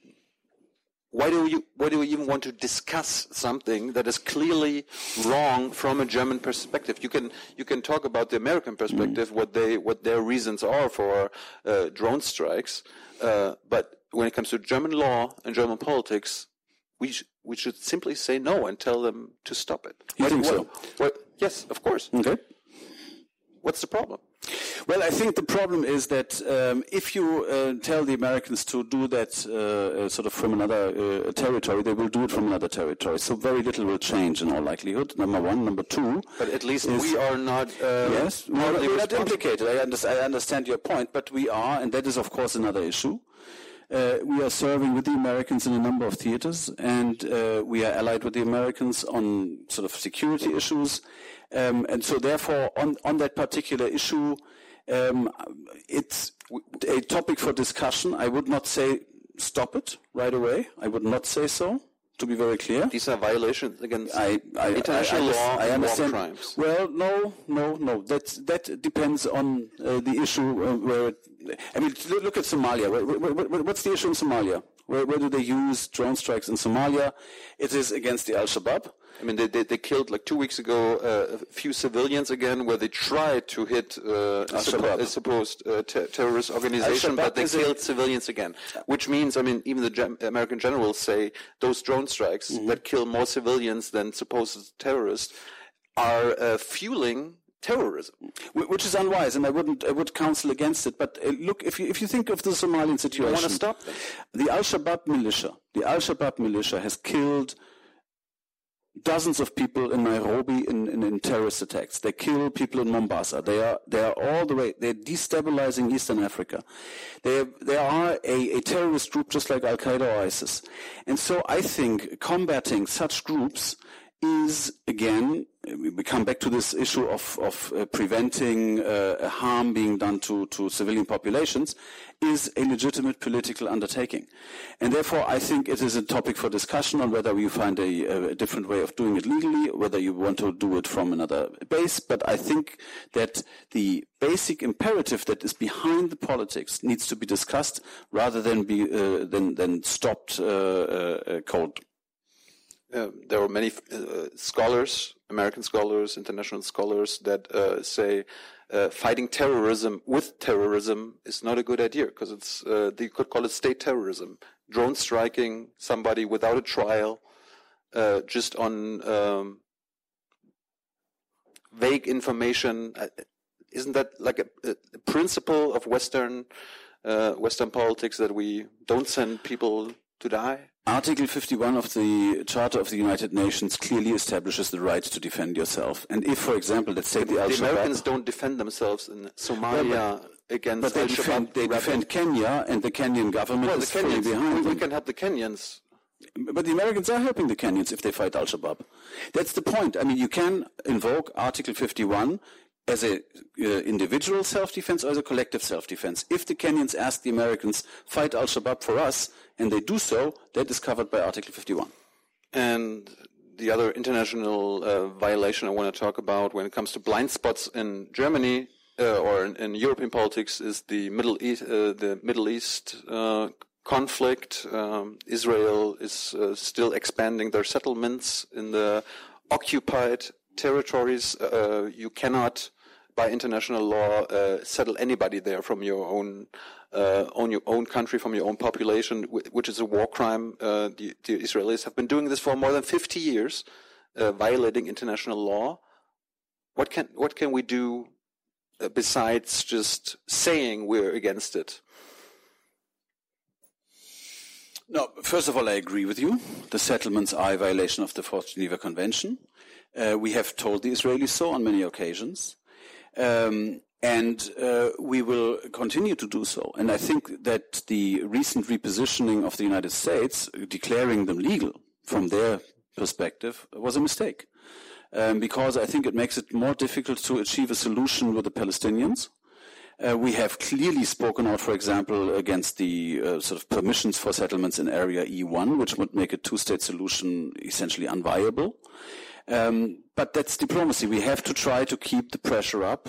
why do you even want to discuss something that is clearly wrong from a German perspective? You can talk about the American perspective, what their reasons are for drone strikes, but when it comes to German law and German politics, we should simply say no and tell them to stop it. You think so? Yes, of course. Okay. What's the problem? Well, I think the problem is that if you tell the Americans to do that sort of from another territory, they will do it from another territory. So very little will change in all likelihood, number one. Number two... But at least we are not... yes, we're not implicated. I understand your point, but we are, and that is, of course, another issue. We are serving with the Americans in a number of theaters, and we are allied with the Americans on sort of security issues. And so therefore, on that particular issue, it's a topic for discussion. I would not say stop it right away. I would not say so, to be very clear. These are violations against international law and war crimes. Well, no. That depends on the issue where... I mean, look at Somalia. What's the issue in Somalia? Where do they use drone strikes in Somalia? It is against the Al-Shabaab. I mean, they killed, like 2 weeks ago, a few civilians again, where they tried to hit a supposed terrorist organization, but they killed civilians again. Which means, I mean, even the American generals say those drone strikes that kill more civilians than supposed terrorists are fueling terrorism, which is unwise, and I would counsel against it. But look, if you think of the Somalian situation, you want to stop them. The Al-Shabaab militia has killed dozens of people in Nairobi in terrorist attacks. They kill people in Mombasa. They are all the way. They're destabilizing Eastern Africa. They are a terrorist group just like Al Qaeda or ISIS. And so I think combating such groups is, again, we come back to this issue of preventing harm being done to civilian populations, is a legitimate political undertaking. And therefore, I think it is a topic for discussion on whether you find a different way of doing it legally, whether you want to do it from another base. But I think that the basic imperative that is behind the politics needs to be discussed rather than be than stopped cold. There are many scholars, American scholars, international scholars, that say fighting terrorism with terrorism is not a good idea, because it's you could call it state terrorism. Drone striking somebody without a trial, just on vague information. Isn't that like a principle of Western politics, that we don't send people to die? Article 51 of the Charter of the United Nations clearly establishes the right to defend yourself. And if, for example, let's say the Al-Shabaab... The Americans don't defend themselves in Somalia against Al-Shabaab. But they defend Kenya, and the Kenyan government is fully behind them. We can help the Kenyans. But the Americans are helping the Kenyans if they fight Al-Shabaab. That's the point. I mean, you can invoke Article 51 as a individual self-defense or as a collective self-defense. If the Kenyans ask the Americans, fight Al-Shabaab for us, and they do so, that is covered by Article 51. And the other international violation I want to talk about when it comes to blind spots in Germany or in European politics is the Middle East conflict. Israel is still expanding their settlements in the occupied territories. You cannot, by international law, settle anybody there from your own country, from your own population, which is a war crime. The Israelis have been doing this for more than 50 years, violating international law. What can we do besides just saying we're against it? No, first of all, I agree with you. The settlements are a violation of the Fourth Geneva Convention. We have told the Israelis so on many occasions. And we will continue to do so. And I think that the recent repositioning of the United States, declaring them legal from their perspective, was a mistake. Because I think it makes it more difficult to achieve a solution with the Palestinians. We have clearly spoken out, for example, against the sort of permissions for settlements in Area E1, which would make a two-state solution essentially unviable. But that's diplomacy. We have to try to keep the pressure up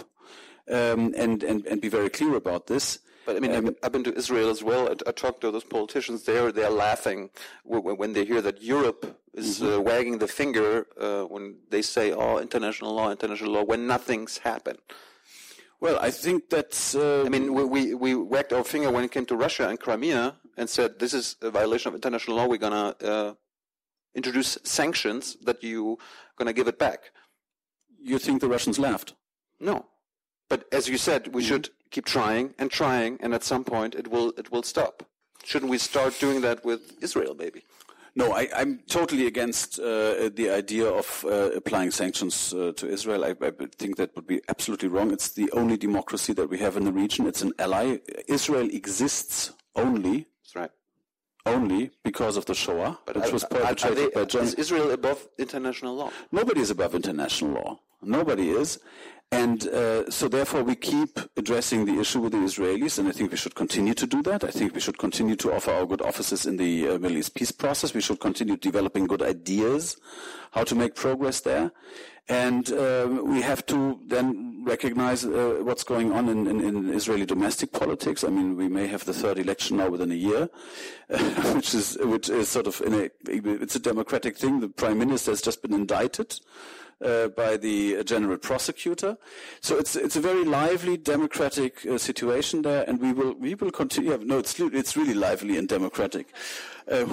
and be very clear about this. But I mean, I've been to Israel as well. I talked to those politicians there. They're laughing when they hear that Europe is wagging the finger when they say, "Oh, international law," when nothing's happened. Well, I think that's... I mean, we wagged our finger when it came to Russia and Crimea and said, this is a violation of international law. We're going to introduce sanctions that you're going to give it back. You think the Russians laughed? No. But as you said, we should keep trying, and at some point it will stop. Shouldn't we start doing that with Israel, maybe? No, I'm totally against the idea of applying sanctions to Israel. I think that would be absolutely wrong. It's the only democracy that we have in the region. It's an ally. Israel exists only. That's right. Only because of the Shoah, which was perpetrated by Germany. Is Israel above international law? Nobody is above international law. Nobody is. And so therefore we keep addressing the issue with the Israelis, and I think we should continue to do that. I think we should continue to offer our good offices in the Middle East peace process. We should continue developing good ideas, how to make progress there. And we have to then recognize what's going on in Israeli domestic politics. I mean, we may have the third election now within a year, which is sort of it's a democratic thing. The prime minister has just been indicted by the general prosecutor. So it's a very lively democratic situation there, and we will continue. No, it's really lively and democratic. But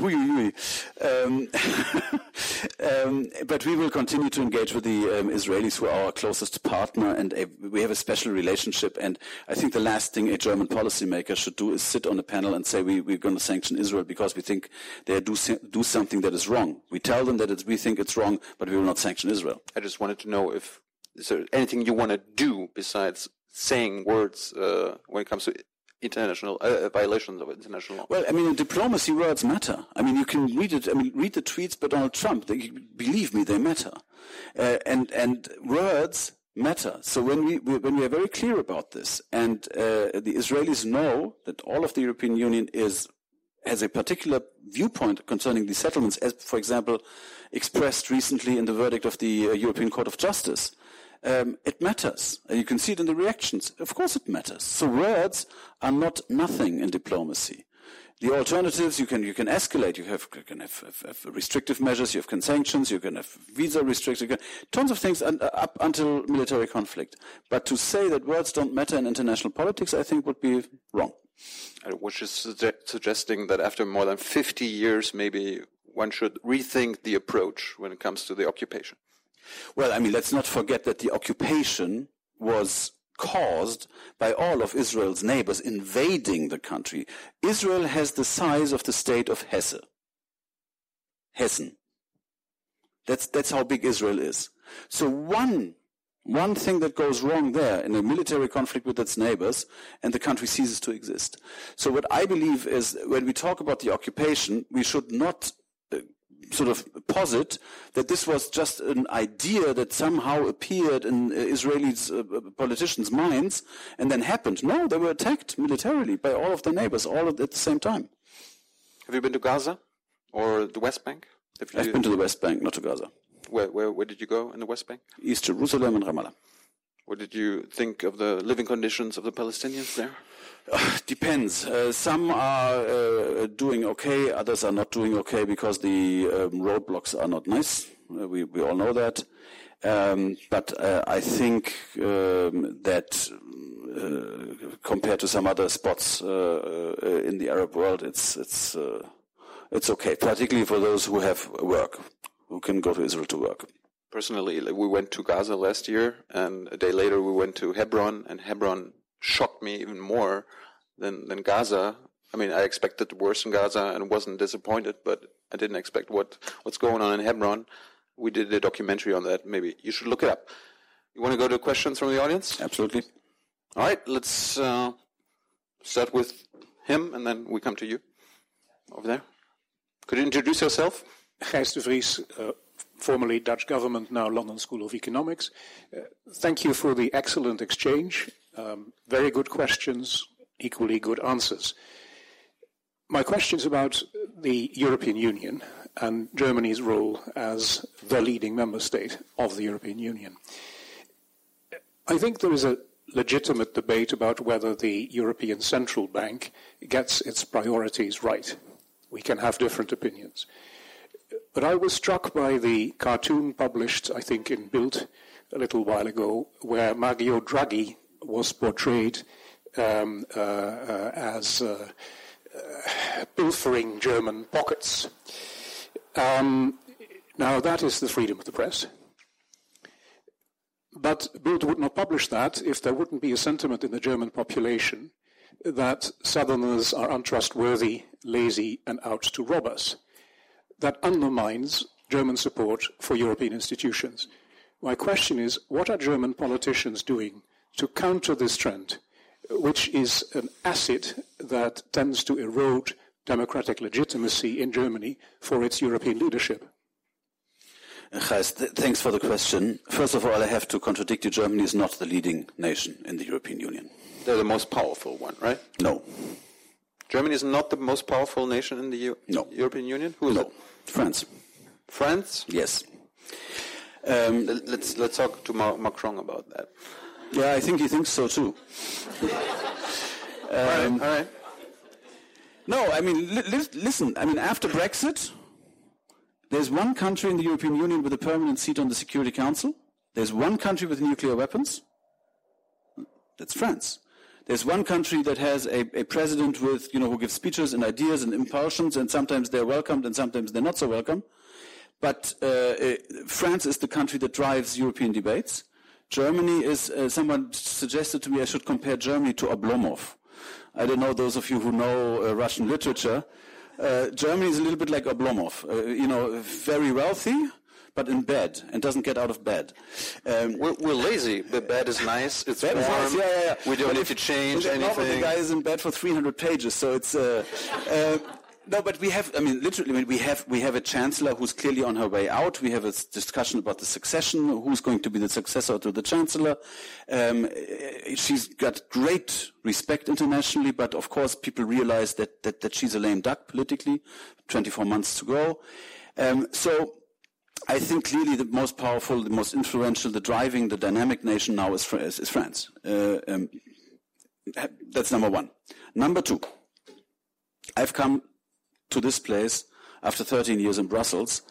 we will continue to engage with the Israelis, who are our closest partner, and we have a special relationship. And I think the last thing a German policymaker should do is sit on a panel and say we're going to sanction Israel because we think they do something that is wrong. We tell them that we think it's wrong, but we will not sanction Israel. I just wanted to know is there anything you want to do besides saying words when it comes to international violations of international law? Well, I mean, in diplomacy, words matter. I mean, you can read it. I mean, read the tweets by Donald Trump. Believe me, they matter, and words matter. So when we are very clear about this, and the Israelis know that all of the European Union has a particular viewpoint concerning the settlements, as, for example, expressed recently in the verdict of the European Court of Justice. It matters. You can see it in the reactions. Of course it matters. So words are not nothing in diplomacy. The alternatives, you can escalate. You can have restrictive measures, you have sanctions, you can have visa restrictions, tons of things up until military conflict. But to say that words don't matter in international politics, I think would be wrong. I was just suggesting that after more than 50 years, maybe one should rethink the approach when it comes to the occupation. Well, I mean, let's not forget that the occupation was caused by all of Israel's neighbors invading the country. Israel has the size of the state of Hessen. That's how big Israel is. So one thing that goes wrong there in a military conflict with its neighbors, and the country ceases to exist. So what I believe is when we talk about the occupation, we should not sort of posit that this was just an idea that somehow appeared in Israeli politicians' minds and then happened. No, they were attacked militarily by all of their neighbors, all at the same time. Have you been to Gaza or the West Bank? I've been to the West Bank, not to Gaza. Where did you go in the West Bank? East Jerusalem and Ramallah. What did you think of the living conditions of the Palestinians there? Depends. Some are doing okay, others are not doing okay because the roadblocks are not nice. We all know that. But I think that compared to some other spots in the Arab world, it's okay, particularly for those who have work, who can go to Israel to work. Personally, we went to Gaza last year, and a day later we went to Hebron, and Hebron shocked me even more than Gaza. I mean, I expected the worst in Gaza and wasn't disappointed, but I didn't expect what's going on in Hebron. We did a documentary on that. Maybe you should look it up. You want to go to questions from the audience? Absolutely. All right, let's start with him, and then we come to you over there. Could you introduce yourself? Gijs de Vries, formerly Dutch government, now London School of Economics. Thank you for the excellent exchange. Very good questions, equally good answers. My question is about the European Union and Germany's role as the leading member state of the European Union. I think there is a legitimate debate about whether the European Central Bank gets its priorities right. We can have different opinions. But I was struck by the cartoon published, I think, in Bild a little while ago, where Mario Draghi was portrayed as pilfering German pockets. Now, that is the freedom of the press. But Bild would not publish that if there wouldn't be a sentiment in the German population that Southerners are untrustworthy, lazy, and out to rob us. That undermines German support for European institutions. My question is, what are German politicians doing to counter this trend, which is an acid that tends to erode democratic legitimacy in Germany for its European leadership? Gijs, thanks for the question. First of all, I have to contradict you. Germany is not the leading nation in the European Union. They're the most powerful one, right? No. Germany is not the most powerful nation in the European Union? Who is it? France. France? Yes. Let's talk to Macron about that. Yeah, I think he thinks so too. All right. No, I mean, listen. I mean, after Brexit, there's one country in the European Union with a permanent seat on the Security Council. There's one country with nuclear weapons. That's France. There's one country that has a president with, who gives speeches and ideas and impulsions, and sometimes they're welcomed and sometimes they're not so welcome. But France is the country that drives European debates. Germany is, someone suggested to me I should compare Germany to Oblomov. I don't know, those of you who know Russian literature. Germany is a little bit like Oblomov, very wealthy, but in bed, and doesn't get out of bed. We're lazy. The bed is nice. It's warm. Nice. Yeah. We don't need to change anything. The guy is in bed for 300 pages, so it's... No, but we have, literally, we have a chancellor who's clearly on her way out. We have a discussion about the succession, who's going to be the successor to the chancellor. She's got great respect internationally, but of course people realize that she's a lame duck politically, 24 months to go. So I think clearly the most powerful, the most influential, the driving, the dynamic nation now is France. That's number one. Number two, I've come to this place after 13 years in Brussels.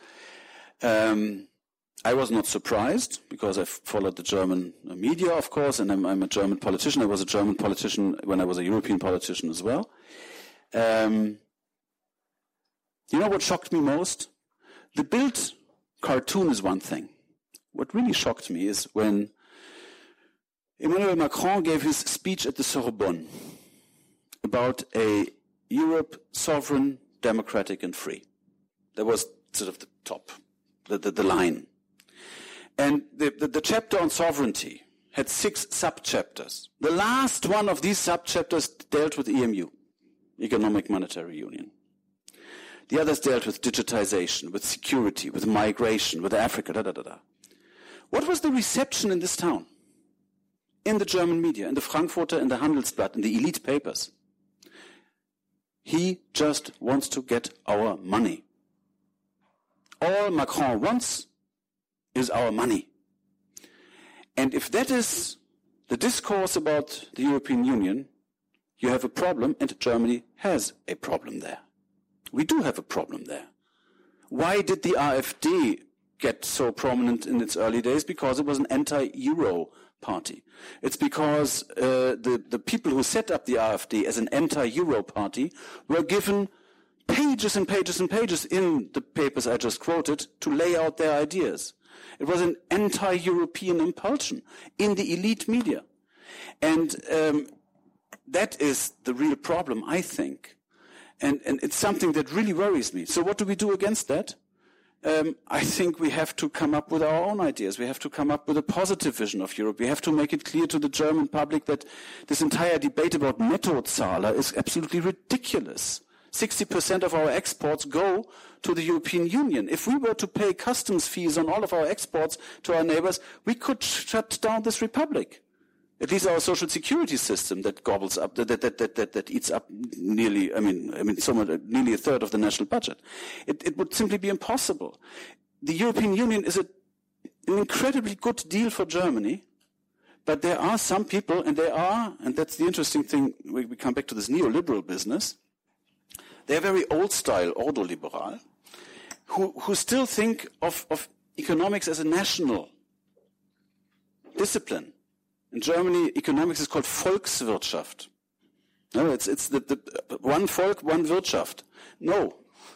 I was not surprised because I've followed the German media, of course, and I'm a German politician. I was a German politician when I was a European politician as well. You know what shocked me most? The Bild cartoon is one thing. What really shocked me is when Emmanuel Macron gave his speech at the Sorbonne about a Europe sovereign, democratic and free. That was sort of the top, the line. And the chapter on sovereignty had 6 sub-chapters. The last one of these sub-chapters dealt with EMU, Economic Monetary Union. The others dealt with digitization, with security, with migration, with Africa, What was the reception in this town? In the German media, in the Frankfurter, in the Handelsblatt, in the elite papers. He just wants to get our money. All Macron wants is our money. And if that is the discourse about the European Union, you have a problem, and Germany has a problem there. We do have a problem there. Why did the AfD get so prominent in its early days? Because it was an anti-Euro party. It's because the people who set up the AfD as an anti-Euro party were given pages and pages and pages in the papers I just quoted to lay out their ideas. It was an anti-European impulsion in the elite media. And that is the real problem, I think. And it's something that really worries me. So what do we do against that? I think we have to come up with our own ideas. We have to come up with a positive vision of Europe. We have to make it clear to the German public that this entire debate about Nettozahler is absolutely ridiculous. 60% of our exports go to the European Union. If we were to pay customs fees on all of our exports to our neighbors, we could shut down this republic. At least our social security system that gobbles up, that eats up nearly, nearly a third of the national budget. It would simply be impossible. The European Union is an incredibly good deal for Germany, but there are some people, and that's the interesting thing, we come back to this neoliberal business, they're very old-style, ordoliberal, who still think of economics as a national discipline. In Germany, economics is called Volkswirtschaft. No, it's the one Volk, one Wirtschaft. No,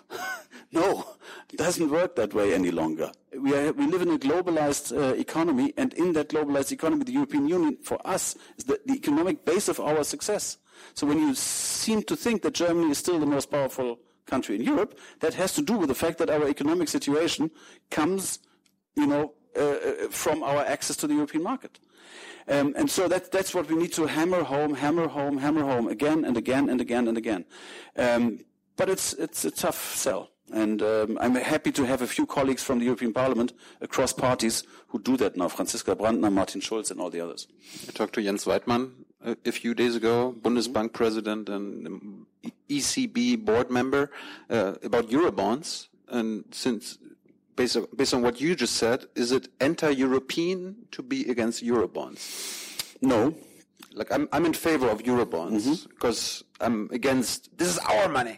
it doesn't work that way any longer. We live in a globalized economy, and in that globalized economy, the European Union, for us, is the economic base of our success. So when you seem to think that Germany is still the most powerful country in Europe, that has to do with the fact that our economic situation comes, from our access to the European market. And so that's what we need to hammer home again and again and again and again. But it's a tough sell. And I'm happy to have a few colleagues from the European Parliament across parties who do that now, Franziska Brandner, Martin Schulz, and all the others. I talked to Jens Weidmann a few days ago, Bundesbank president and ECB board member, about Eurobonds. And since based on what you just said, is it anti-European to be against Eurobonds? No. Like I'm in favor of Eurobonds because I'm against. This is our money.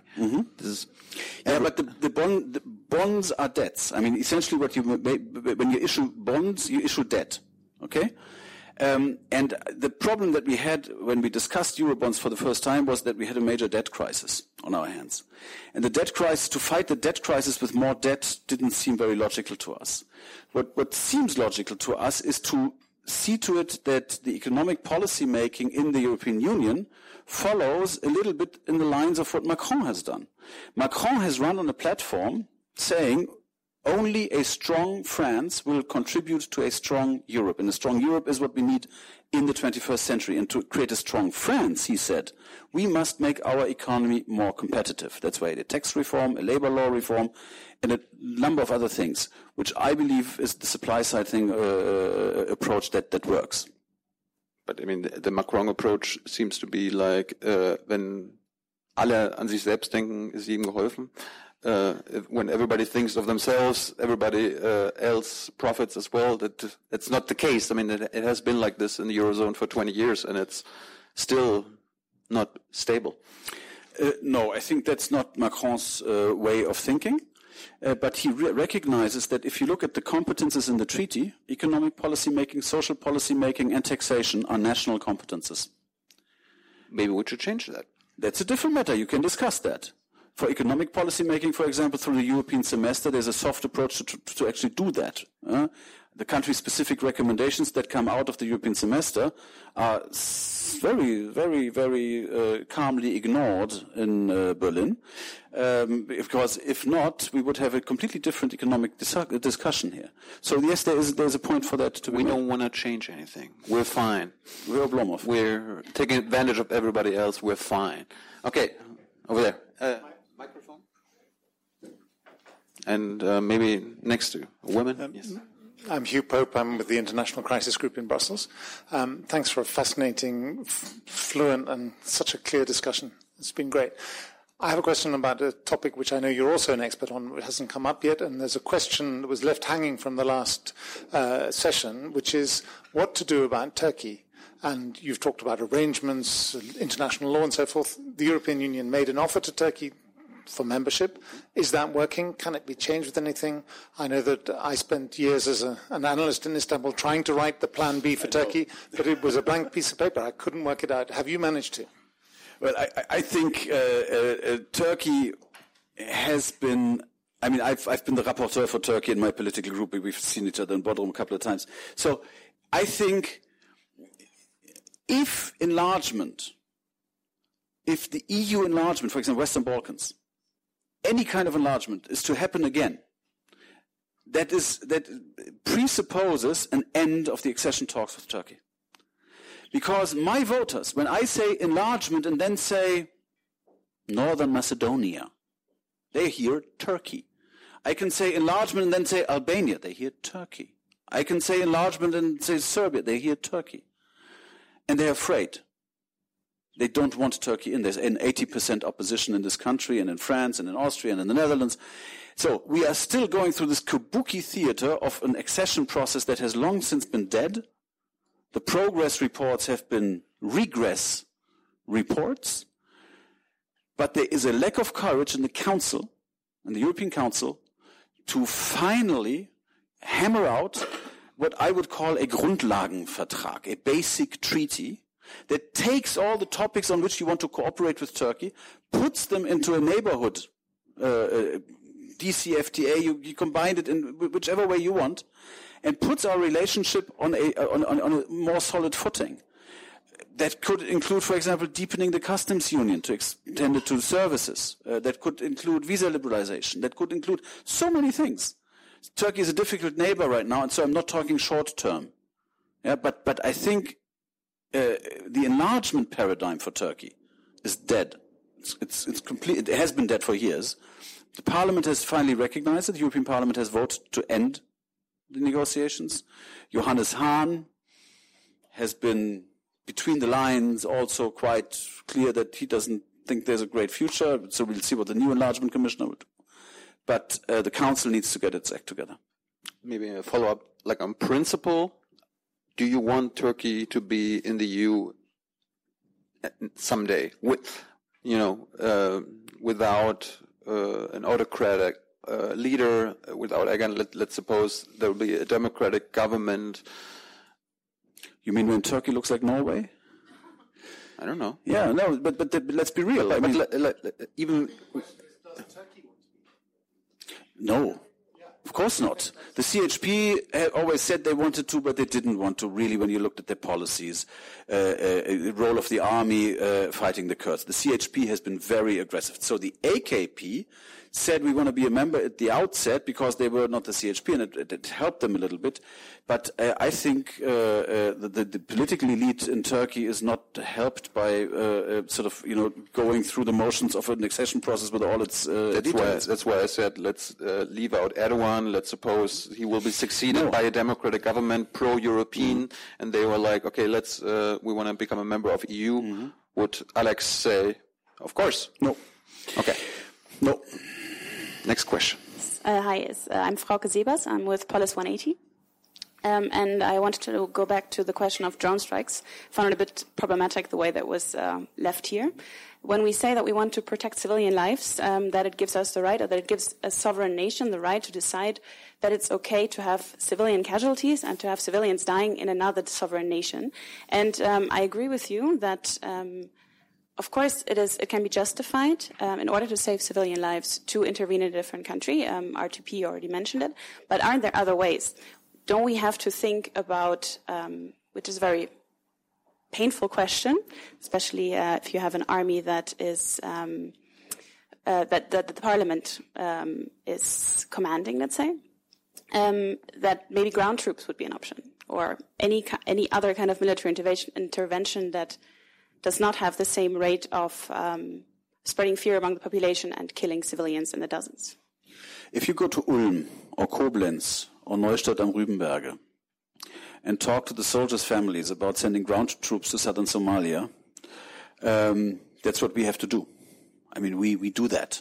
But the bonds are debts. I mean, essentially, when you issue bonds, you issue debt. Okay. And the problem that we had when we discussed Eurobonds for the first time was that we had a major debt crisis on our hands. And to fight the debt crisis with more debt didn't seem very logical to us. What seems logical to us is to see to it that the economic policy making in the European Union follows a little bit in the lines of what Macron has done. Macron has run on a platform saying only a strong France will contribute to a strong Europe. And a strong Europe is what we need in the 21st century. And to create a strong France, he said, we must make our economy more competitive. That's why a tax reform, a labor law reform, and a number of other things, which I believe is the supply side thing approach that works. But I mean, the Macron approach seems to be like, wenn alle an sich selbst denken, ist jedem geholfen. When everybody thinks of themselves, everybody else profits as well. That's not the case. I mean, it has been like this in the Eurozone for 20 years, and it's still not stable. No, I think that's not Macron's way of thinking. But he recognizes that if you look at the competences in the treaty, economic policy making, social policy making, and taxation are national competences. Maybe we should change that. That's a different matter. You can discuss that. For economic policy making, for example, through the European semester, there's a soft approach to actually do that. The country-specific recommendations that come out of the European semester are very, very, very calmly ignored in Berlin, because if not, we would have a completely different economic discussion here. So yes, there's a point for that to be made. We don't want to change anything. We're fine. We're Oblomov. We're taking advantage of everybody else. We're fine. Okay, over there. Microphone. And maybe next to women. Yes. I'm Hugh Pope. I'm with the International Crisis Group in Brussels. Thanks for a fascinating, fluent, and such a clear discussion. It's been great. I have a question about a topic which I know you're also an expert on. It hasn't come up yet, and there's a question that was left hanging from the last session, which is what to do about Turkey. And you've talked about arrangements, international law, and so forth. The European Union made an offer to Turkey for membership. Is that working? Can it be changed with anything? I know that I spent years as an analyst in Istanbul trying to write the plan B for Turkey, but it was a blank piece of paper. I couldn't work it out. Have you managed to? Well, I think Turkey has been. I mean, I've been the rapporteur for Turkey in my political group. We've seen each other in Bodrum a couple of times. So I think if the EU enlargement, for example, Western Balkans, any kind of enlargement is to happen again, that presupposes an end of the accession talks with Turkey. Because my voters, when I say enlargement and then say Northern Macedonia, they hear Turkey. I can say enlargement and then say Albania, they hear Turkey. I can say enlargement and say Serbia, they hear Turkey. And they're afraid. They don't want Turkey in. There's an 80% opposition in this country and in France and in Austria and in the Netherlands. So we are still going through this kabuki theater of an accession process that has long since been dead. The progress reports have been regress reports. But there is a lack of courage in the Council, in the European Council, to finally hammer out what I would call a Grundlagenvertrag, a basic treaty that takes all the topics on which you want to cooperate with Turkey, puts them into a neighborhood, DCFTA, you combine it in whichever way you want, and puts our relationship on a more solid footing. That could include, for example, deepening the customs union to extend it to services. That could include visa liberalization. That could include so many things. Turkey is a difficult neighbor right now, and so I'm not talking short term. Yeah, but I think the enlargement paradigm for Turkey is dead. It's complete. It has been dead for years. The Parliament has finally recognized it. The European Parliament has voted to end the negotiations. Johannes Hahn has been, between the lines, also quite clear that he doesn't think there's a great future. So we'll see what the new enlargement commissioner will do. But the Council needs to get its act together. Maybe a follow-up, like on principle, do you want Turkey to be in the EU someday? Without an autocratic leader, without, again, let's suppose there will be a democratic government. You mean when Turkey looks like Norway? I don't know. Yeah, no, but let's be real. Even... No, of course not. The CHP had always said they wanted to, but they didn't want to, really, when you looked at their policies. Role of the army fighting the Kurds. The CHP has been very aggressive. So the AKP said we want to be a member at the outset because they were not the CHP, and it helped them a little bit. But I think the political elite in Turkey is not helped by going through the motions of an accession process with all its details. That's why I said let's leave out Erdogan. Let's suppose he will be succeeded by a democratic government, pro-European, and they were like, okay, we want to become a member of EU. Mm-hmm. Would Alex say, of course? No. Okay. No. Next question. Hi, I'm Frauke Sebers. I'm with Polis 180. And I wanted to go back to the question of drone strikes. I found it a bit problematic the way that was left here. When we say that we want to protect civilian lives, that it gives us the right, or that it gives a sovereign nation the right to decide that it's okay to have civilian casualties and to have civilians dying in another sovereign nation. And I agree with you that... of course, it can be justified in order to save civilian lives to intervene in a different country. RTP already mentioned it. But aren't there other ways? Don't we have to think about, which is a very painful question, especially if you have an army that is that the parliament is commanding, let's say, that maybe ground troops would be an option, or any other kind of military intervention that does not have the same rate of spreading fear among the population and killing civilians in the dozens. If you go to Ulm or Koblenz or Neustadt am Rübenberge and talk to the soldiers' families about sending ground troops to southern Somalia, that's what we have to do. I mean, we do that.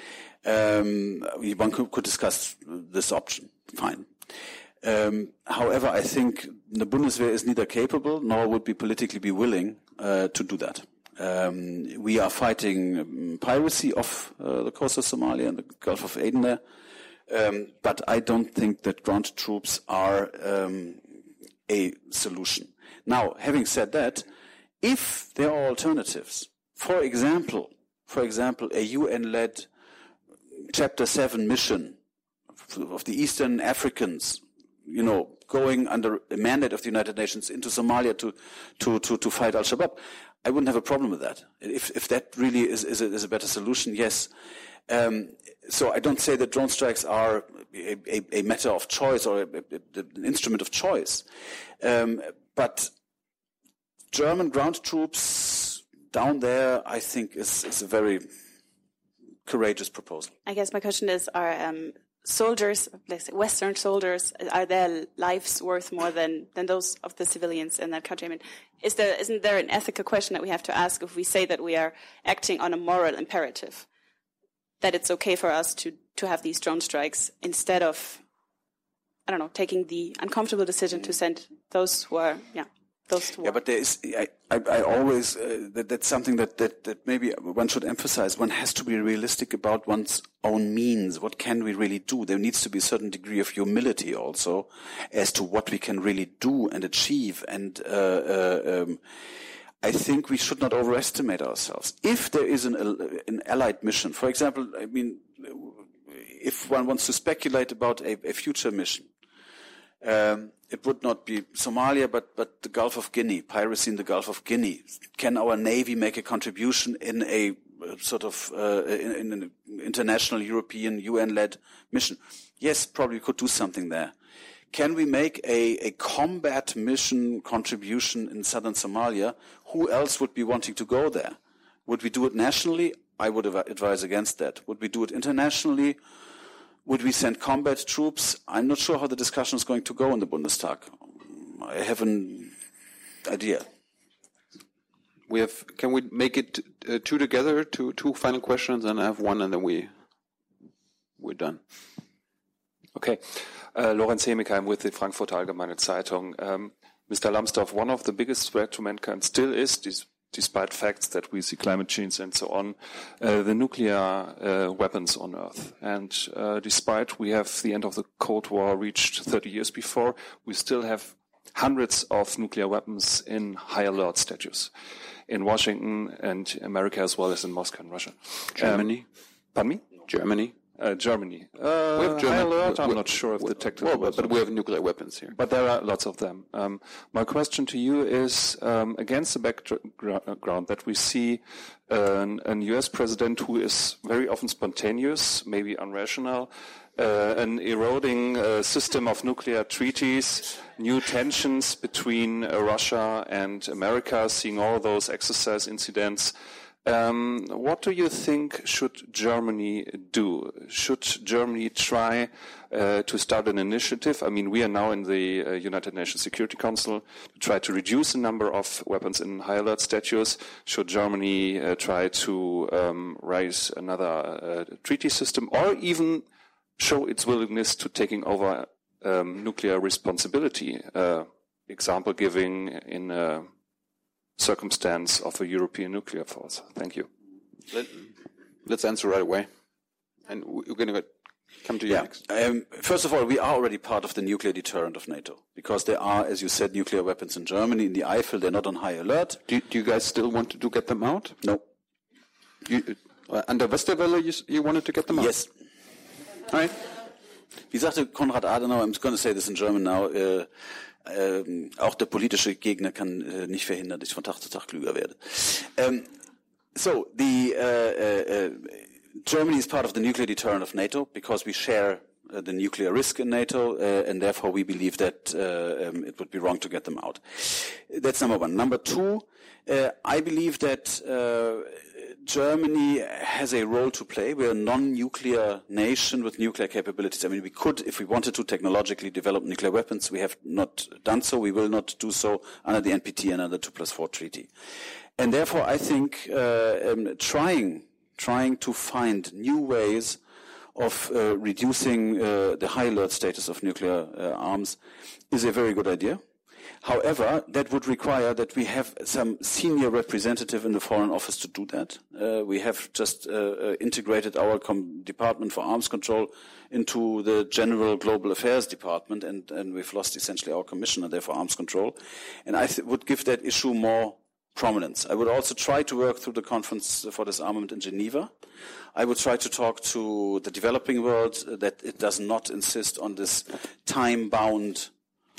One could discuss this option, fine. However, I think the Bundeswehr is neither capable nor would be politically be willing to do that. We are fighting piracy off the coast of Somalia and the Gulf of Aden there, but I don't think that ground troops are a solution. Now, having said that, if there are alternatives, for example, a UN-led Chapter 7 mission of the Eastern Africans, going under a mandate of the United Nations into Somalia to fight Al-Shabaab, I wouldn't have a problem with that. If that really is a better solution, yes. So I don't say that drone strikes are a matter of choice or an instrument of choice. But German ground troops down there, I think, is a very courageous proposal. I guess my question is, are soldiers, let's say Western soldiers, are their lives worth more than those of the civilians in that country? I mean, isn't there an ethical question that we have to ask if we say that we are acting on a moral imperative, that it's okay for us to have these drone strikes instead of, I don't know, taking the uncomfortable decision to send those who are, those to war? Yeah, but there is, I always, that's something that maybe one should emphasize. One has to be realistic about one's own means. What can we really do? There needs to be a certain degree of humility also as to what we can really do and achieve. And I think we should not overestimate ourselves. If there is an allied mission, for example, I mean, if one wants to speculate about a future mission, it would not be Somalia, but the Gulf of Guinea, piracy in the Gulf of Guinea. Can our Navy make a contribution in a sort of in an international European UN-led mission? Yes, probably could do something there. Can we make a combat mission contribution in southern Somalia? Who else would be wanting to go there? Would we do it nationally? I would advise against that. Would we do it internationally? Would we send combat troops? I'm not sure how the discussion is going to go in the Bundestag. I have an idea. Can we make it two together, two final questions, and I have one, and then we're done. Okay. Lorenz Hemigheim with the Frankfurter Allgemeine Zeitung. Mr. Lambsdorff, one of the biggest threats to mankind still is, despite facts that we see climate change and so on, the nuclear weapons on Earth. And despite we have the end of the Cold War reached 30 years before, we still have hundreds of nuclear weapons in high alert status in Washington and America, as well as in Moscow and Russia. Germany? Pardon me? Germany? Germany. We have German, high alert, I'm not sure of the technical but we have nuclear weapons here. But there are lots of them. My question to you is, against the background that we see an US president who is very often spontaneous, maybe unrational, an eroding system of nuclear treaties, new tensions between Russia and America, seeing all those exercise incidents. What do you think should Germany do? Should Germany try to start an initiative? I mean, we are now in the United Nations Security Council to try to reduce the number of weapons in high alert status. Should Germany try to raise another treaty system, or even show its willingness to taking over nuclear responsibility? Example giving in circumstance of a European nuclear force. Thank you. Let's answer right away. And we're going to come to you next. First of all, we are already part of the nuclear deterrent of NATO because there are, as you said, nuclear weapons in Germany, in the Eifel. They're not on high alert. Do you guys still want to get them out? No. Under Westerwelle, you wanted to get them out? Yes. All right. Wie sagte Konrad Adenauer, I'm going to say this in German now, auch der politische Gegner kann nicht verhindern, dass ich von Tag zu Tag klüger werde. So Germany is part of the nuclear deterrent of NATO because we share the nuclear risk in NATO, and therefore we believe that it would be wrong to get them out. That's number one. Number two, I believe that Germany has a role to play. We're a non-nuclear nation with nuclear capabilities. I mean, we could, if we wanted to, technologically develop nuclear weapons. We have not done so. We will not do so under the NPT and under the 2+4 treaty. And therefore, I think trying to find new ways of reducing the high alert status of nuclear arms is a very good idea. However, that would require that we have some senior representative in the Foreign Office to do that. We have just integrated our Department for Arms Control into the General Global Affairs Department, and we've lost essentially our commissioner there for arms control. And I would give that issue more prominence. I would also try to work through the Conference for Disarmament in Geneva. I would try to talk to the developing world that it does not insist on this time-bound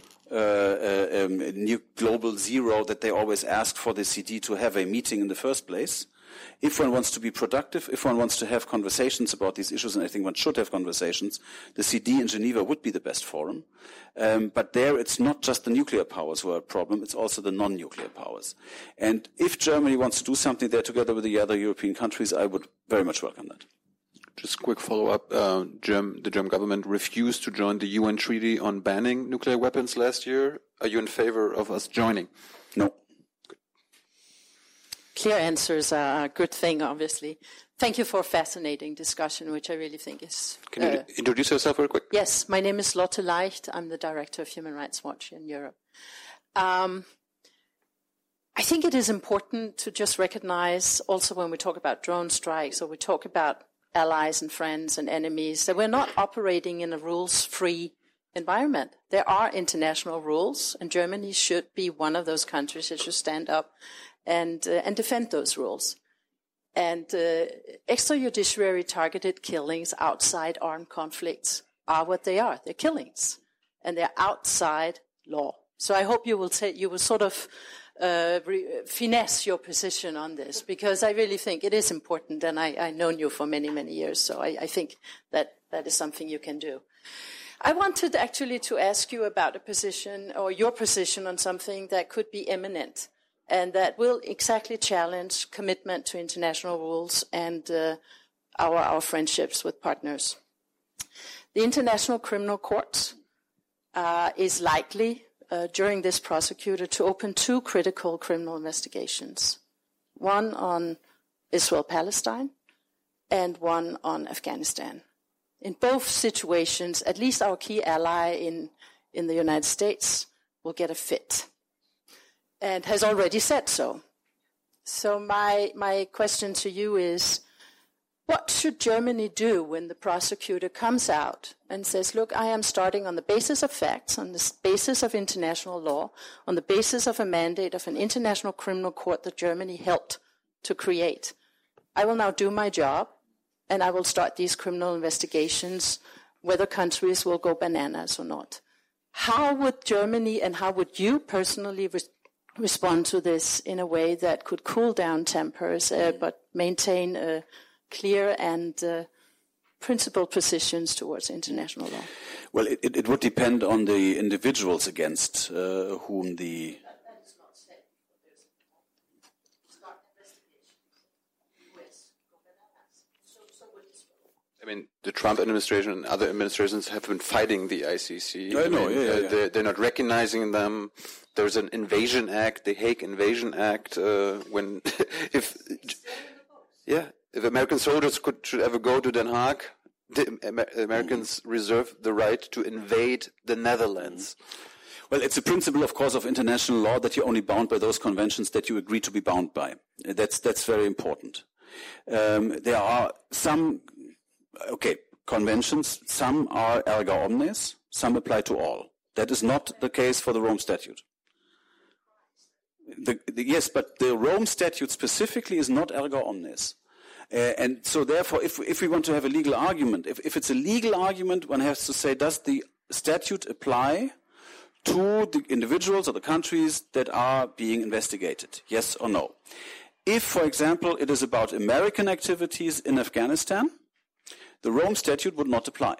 new global zero that they always ask for the CD to have a meeting in the first place. If one wants to be productive, if one wants to have conversations about these issues, and I think one should have conversations, the CD in Geneva would be the best forum. But there it's not just the nuclear powers who are a problem, it's also the non-nuclear powers. And if Germany wants to do something there together with the other European countries, I would very much welcome that. Just a quick follow-up. The German government refused to join the UN Treaty on banning nuclear weapons last year. Are you in favor of us joining? No. Clear answers are a good thing, obviously. Thank you for a fascinating discussion, which I really think is... Can you introduce yourself very quick? Yes, my name is Lotte Leicht. I'm the director of Human Rights Watch in Europe. I think it is important to just recognize, also when we talk about drone strikes or we talk about allies and friends and enemies, that we're not operating in a rules-free environment. There are international rules, and Germany should be one of those countries that should stand up and defend those rules. And extrajudiciary targeted killings outside armed conflicts are what they are. They're killings, and they're outside law. So I hope you will sort of finesse your position on this, because I really think it is important, and I've known you for many, many years, so I think that is something you can do. I wanted actually to ask you about a position, or your position on something that could be imminent, and that will exactly challenge commitment to international rules and our friendships with partners. The International Criminal Court is likely, during this prosecutor, to open 2 critical criminal investigations, one on Israel-Palestine and one on Afghanistan. In both situations, at least our key ally in the United States will get a fit, and has already said so. So my question to you is, what should Germany do when the prosecutor comes out and says, look, I am starting on the basis of facts, on the basis of international law, on the basis of a mandate of an international criminal court that Germany helped to create. I will now do my job, and I will start these criminal investigations, whether countries will go bananas or not. How would Germany and how would you personally respond to this in a way that could cool down tempers, but maintain clear and principled positions towards international law? Well, it would depend on the individuals against whom the... That is not said. Start investigations. US go bananas. So would Israel. I mean, the Trump administration and other administrations have been fighting the ICC. I know, They're not recognizing them. There's an invasion act, the Hague Invasion Act, if American soldiers should ever go to Den Haag, the Americans reserve the right to invade the Netherlands. Well, it's a principle, of course, of international law that you're only bound by those conventions that you agree to be bound by. That's very important. There are some, conventions. Some are erga omnes. Some apply to all. That is not the case for the Rome Statute. Yes, but the Rome Statute specifically is not erga omnes. And so therefore, if we want to have a legal argument, if it's a legal argument, one has to say, does the statute apply to the individuals or the countries that are being investigated? Yes or no? If, for example, it is about American activities in Afghanistan, the Rome Statute would not apply.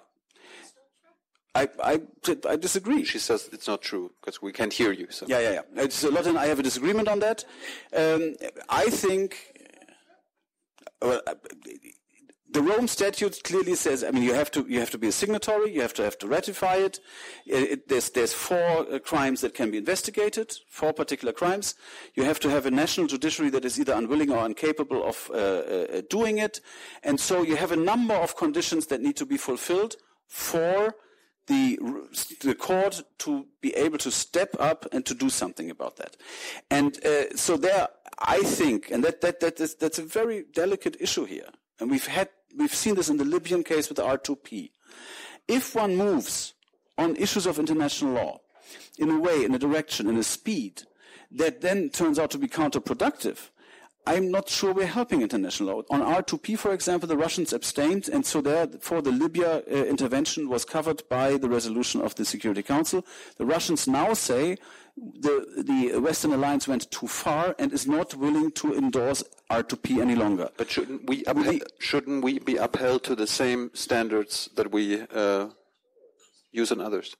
I disagree. She says it's not true because we can't hear you. So. Yeah. Lotte and I have a disagreement on that. I think the Rome Statute clearly says, I mean, you have to be a signatory, you have to ratify it. There's 4 crimes that can be investigated, 4 particular crimes. You have to have a national judiciary that is either unwilling or incapable of doing it. And so you have a number of conditions that need to be fulfilled for the court to be able to step up and to do something about that. And so there, I think, and that's a very delicate issue here. And we've seen this in the Libyan case with the R2P. If one moves on issues of international law in a way, in a direction, in a speed that then turns out to be counterproductive, I'm not sure we're helping international law. On R2P, for example, the Russians abstained, and so therefore the Libya intervention was covered by the resolution of the Security Council. The Russians now say the Western alliance went too far and is not willing to endorse R2P any longer. But shouldn't we be upheld to the same standards that we use on others?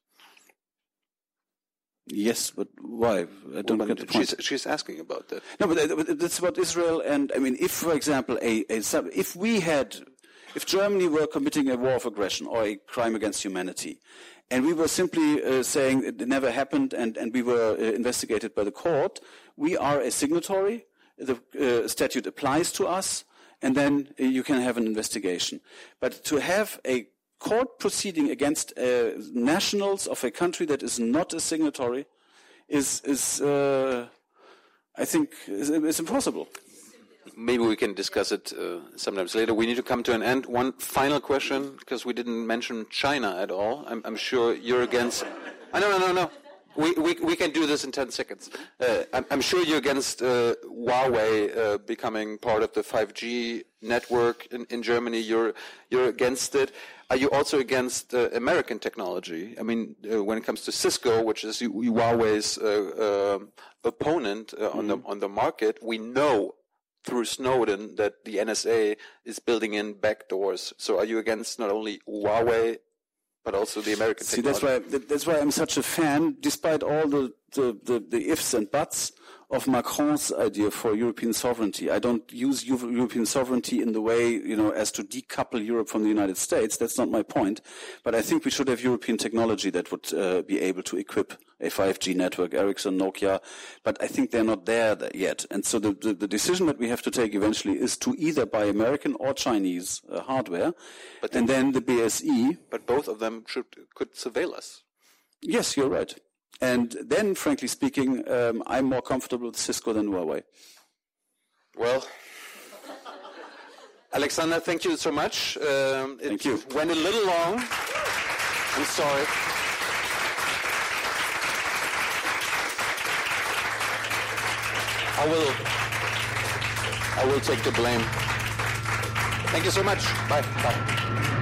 Yes, but why? I don't get the point. She's asking about that. No, but that's about Israel. And I mean, if, for example, if Germany were committing a war of aggression or a crime against humanity, and we were simply saying it never happened, and we were investigated by the court, we are a signatory. The statute applies to us, and then you can have an investigation. But to have a court proceeding against nationals of a country that is not a signatory is I think, is impossible. Maybe we can discuss it sometimes later. We need to come to an end. One final question, because we didn't mention China at all. I'm sure you're against. No. We can do this in 10 seconds. I'm sure you're against Huawei becoming part of the 5G network in Germany. You're against it. Are you also against American technology? I mean, when it comes to Cisco, which is Huawei's opponent on the market, we know through Snowden that the NSA is building in backdoors. So are you against not only Huawei, but also the American technology? That's why I'm such a fan, despite all the ifs and buts of Macron's idea for European sovereignty. I don't use European sovereignty in the way, as to decouple Europe from the United States. That's not my point. But I think we should have European technology that would be able to equip a 5G network, Ericsson, Nokia. But I think they're not there yet. And so the decision that we have to take eventually is to either buy American or Chinese hardware, and then the BSE. But both of them could surveil us. Yes, you're right. And then, frankly speaking, I'm more comfortable with Cisco than Huawei. Well, Alexander, thank you so much. Thank you. It went a little long. I'm sorry. I will take the blame. Thank you so much. Bye.